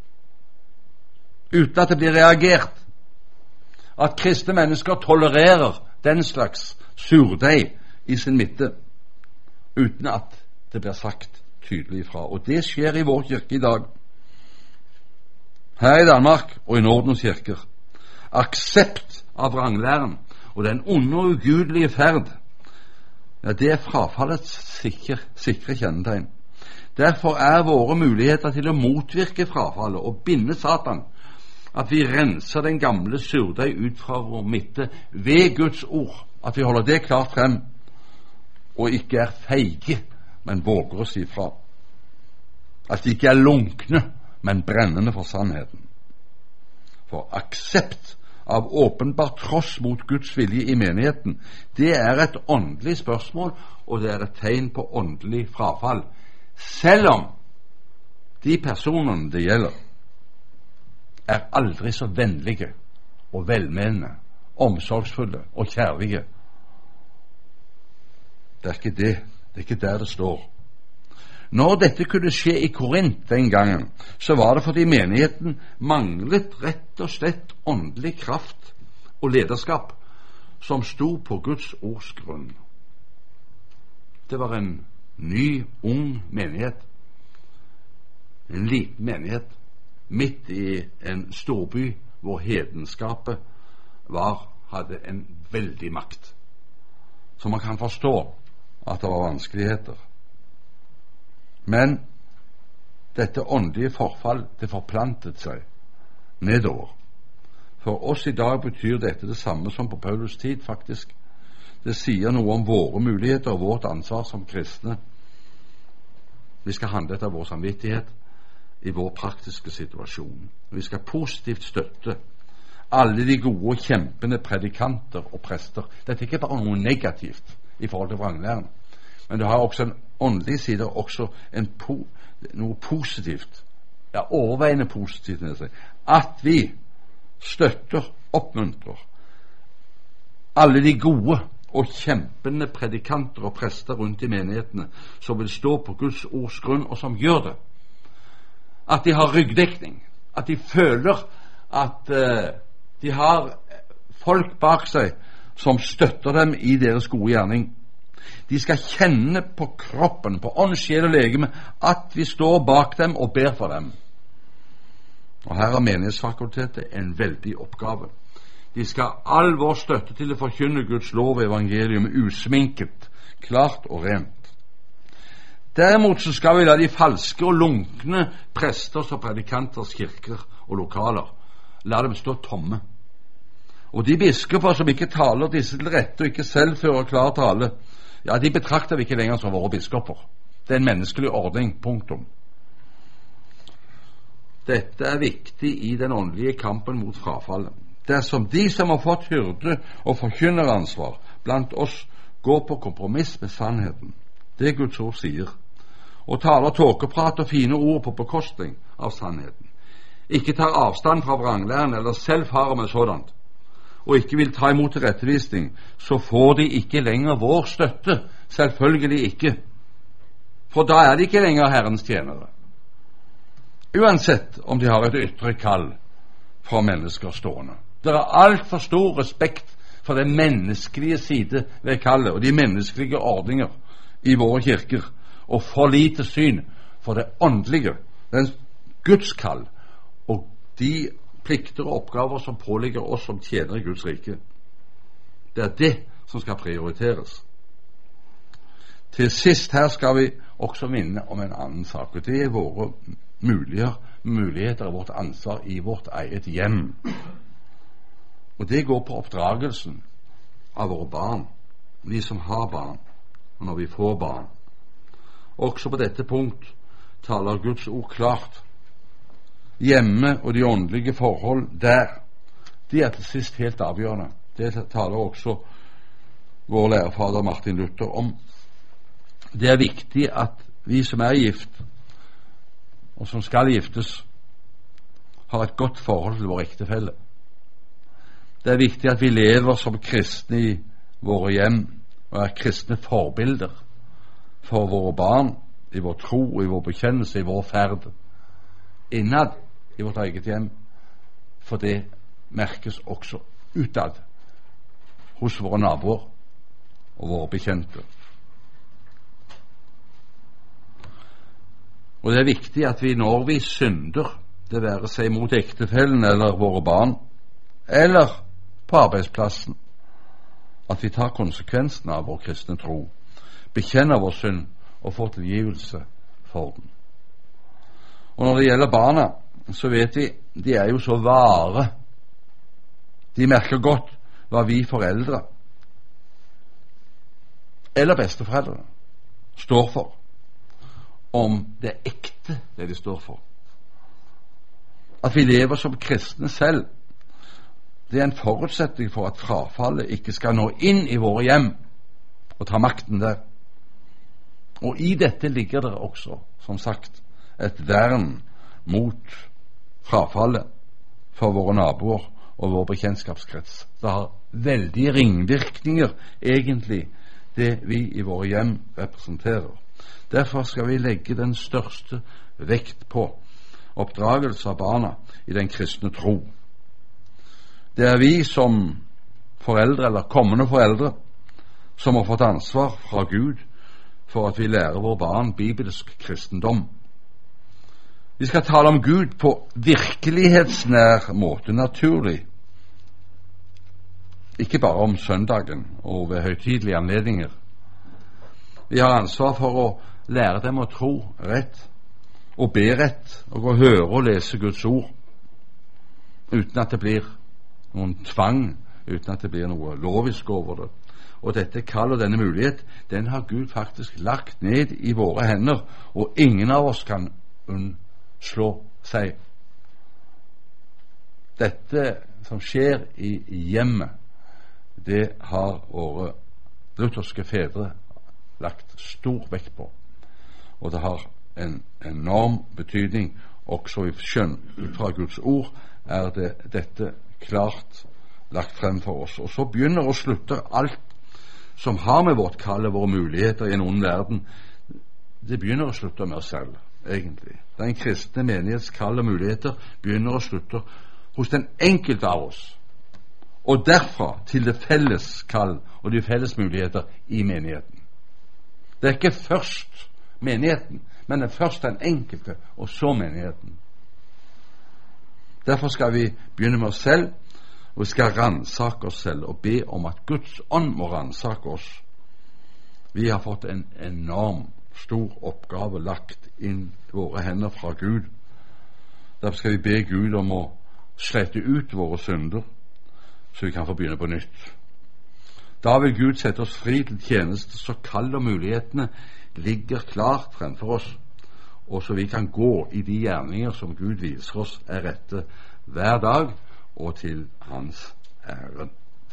Uten at det blir reagert. At kristne mennesker tolererer den slags surdeig i sin midte, uten at det blir sagt tydelig fra. Og det skjer i vår kirke i dag. Her i Danmark og i Nordens kirker. Aksept av vranglæren og den onde og ugudelige ferd, ja, det er frafallets sikre kjennetegn. Derfor er våre muligheter til å motvirke frafallet og binde Satan at vi renser den gamle surdeig ut fra vår midte ved Guds ord, at vi holder det klart frem og ikke er feige, men våger å si fra. At de ikke er lunkne, men brennende for sannheten. For aksept av åpenbart tross mot Guds vilje i menigheten, det er et åndelig spørsmål, og det er et tegn på åndelig frafall, selv om de personene det gjelder er aldri så vennlige og velmenende, omsorgsfulle og kjærlige. Det er ikke det. Det er ikke der det står. Når dette kunne skje i Korint den gangen, så var det fordi menigheten manglet rett og slett åndelig kraft og lederskap som sto på Guds ords grunn. Det var en ny, ung menighet. En liten menighet midt i en storby hvor hedenskapet hadde en veldig makt. Så man kan forstå at det var vanskeligheter. Men dette åndelige forfall, det forplantet seg nedover. For oss i dag betyr dette det samme som på Paulus tid, faktisk. Det sier noe om våre muligheter og vårt ansvar som kristne. Vi skal handle etter vår samvittighet i vår praktiske situasjon. Vi skal positivt støtte alle de gode og kjempende predikanter og prester. Dette er ikke bare noe negativt i forhold til vranglæren, men det har også en åndelig side, også noe positivt, ja, overveiende positivt, at vi støtter oppmuntrer alle de gode og kjempende predikanter og prester rundt i menighetene som vil stå på Guds ords grunn, og som gjør det. At de har ryggdekning, at de føler at de har folk bak seg som støtter dem i deres gode gjerning. De skal kjenne på kroppen, på ånd, sjel og legeme, at vi står bak dem og ber for dem. Og her har menighetsfakultetet en veldig oppgave. De skal ha all vår støtte til å forkynne Guds lov og evangelium usminket, klart og rent. Derimot så skal vi la de falske og lunkne presters og predikanters kirker og lokaler, la dem stå tomme. Og de biskoper som ikke taler disse til rette og ikke selv fører klar tale, ja, de betrakter vi ikke lenger som våre biskoper. Det er en menneskelig ordning, punktum. Dette er viktig i den åndelige kampen mot frafallet. Dersom de som har fått hyrde- og forkynneransvar blant oss går på kompromiss med sannheten, det Guds ord sier, og taler tåkeprat og fine ord på bekostning av sannheten, ikke tar avstand fra vranglæren eller selv farer med sådant, og ikke vil ta imot tilrettevisning, så får de ikke lenger vår støtte, selvfølgelig ikke, for da er de ikke lenger Herrens tjenere, uansett om de har et ytre kall fra mennesker stående. Det er alt for stor respekt for den menneskelige side ved kallet og de menneskelige ordninger i våre kirker, og for lite syn for det åndelige, den Guds kall og de plikter og oppgaver som påligger oss som tjener i Guds rike. Det er det som skal prioriteres. Til sist her skal vi også minne om en annen sak, og det er våre muligheter og vårt ansvar i vårt eget hjem. Og det går på oppdragelsen av våre barn, vi som har barn, og når vi får barn. Også på dette punkt taler Guds ord klart. Hjemme og de åndelige forhold der, de er til sist helt avgjørende. Det taler også vår lærefader Martin Luther om. Det er viktig at vi som er gift, og som skal giftes, har et godt forhold til vår ektefelle. Det er viktig at vi lever som kristne i våre hjem, og er kristne forbilder for våre barn, i vår tro, i vår bekjennelse, i vår ferd, innad i vårt eget hjem, for det merkes også utad hos våre naboer og våre bekjente. Og det er viktig at vi, når vi synder, det være seg mot ektefellen eller våre barn, eller på arbeidsplassen, at vi tar konsekvensen av vår kristne tro, bekjenner vår synd og får tilgivelse for den. Og når det gjelder barna, så vet vi, de er jo så vare. De merker godt hva vi foreldre eller besteforeldre står for, om det er ekte det de står for. At vi lever som kristne selv, det er en forutsetning for at frafallet ikke skal nå inn i våre hjem og ta makten der. Og i dette ligger det også, som sagt, et vern mot frafallet for våre naboer og vår bekjentskapskrets. Det har veldige ringvirkninger, egentlig, det vi i våre hjem representerer. Derfor skal vi legge den største vekt på oppdragelse av barna i den kristne tro. Det er vi som foreldre, eller kommende foreldre, som har fått ansvar fra Gud for at vi lærer våre barn bibelsk kristendom. Vi skal tale om Gud på virkelighetsnær måte, naturlig. Ikke bare om søndagen og ved høytidelige anledninger. Vi har ansvar for å lære dem å tro rett, og be rett, og å høre og lese Guds ord, uten at det blir noen tvang, uten at det blir noe lovisk over det. Og dette kall og denne mulighet, den har Gud faktisk lagt ned i våre hender, og ingen av oss kan unnslå seg. Dette som skjer i hjemmet, det har våre lutherske fedre lagt stor vekt på, og det har en enorm betydning også i skjønn. Ut fra Guds ord er det dette klart lagt frem for oss. Og så begynner og slutter alt som har med vårt kall og våre muligheter i en ond verden, det begynner og slutter med oss selv, egentlig. Den kristne menighets kall og muligheter begynner og slutter hos den enkelte av oss, og derfra til det felles kall og de felles muligheter i menigheten. Det er ikke først menigheten, men det er først den enkelte, og så menigheten. Derfor skal vi begynne med oss selv, og vi skal ransake oss selv og be om at Guds ånd må ransake oss. Vi har fått en enorm stor oppgave lagt inn i våre hender fra Gud. Derfor skal vi be Gud om å slette ut våre synder, så vi kan få begynne på nytt. Da vil Gud sette oss fri til tjeneste, så kall og mulighetene ligger klart fremfor oss, og så vi kan gå i de gjerninger som Gud viser oss er rette hver dag, og til hans ære.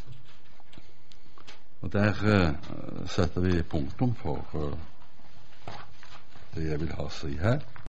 Og der setter vi punktum for det jeg vil ha å si her.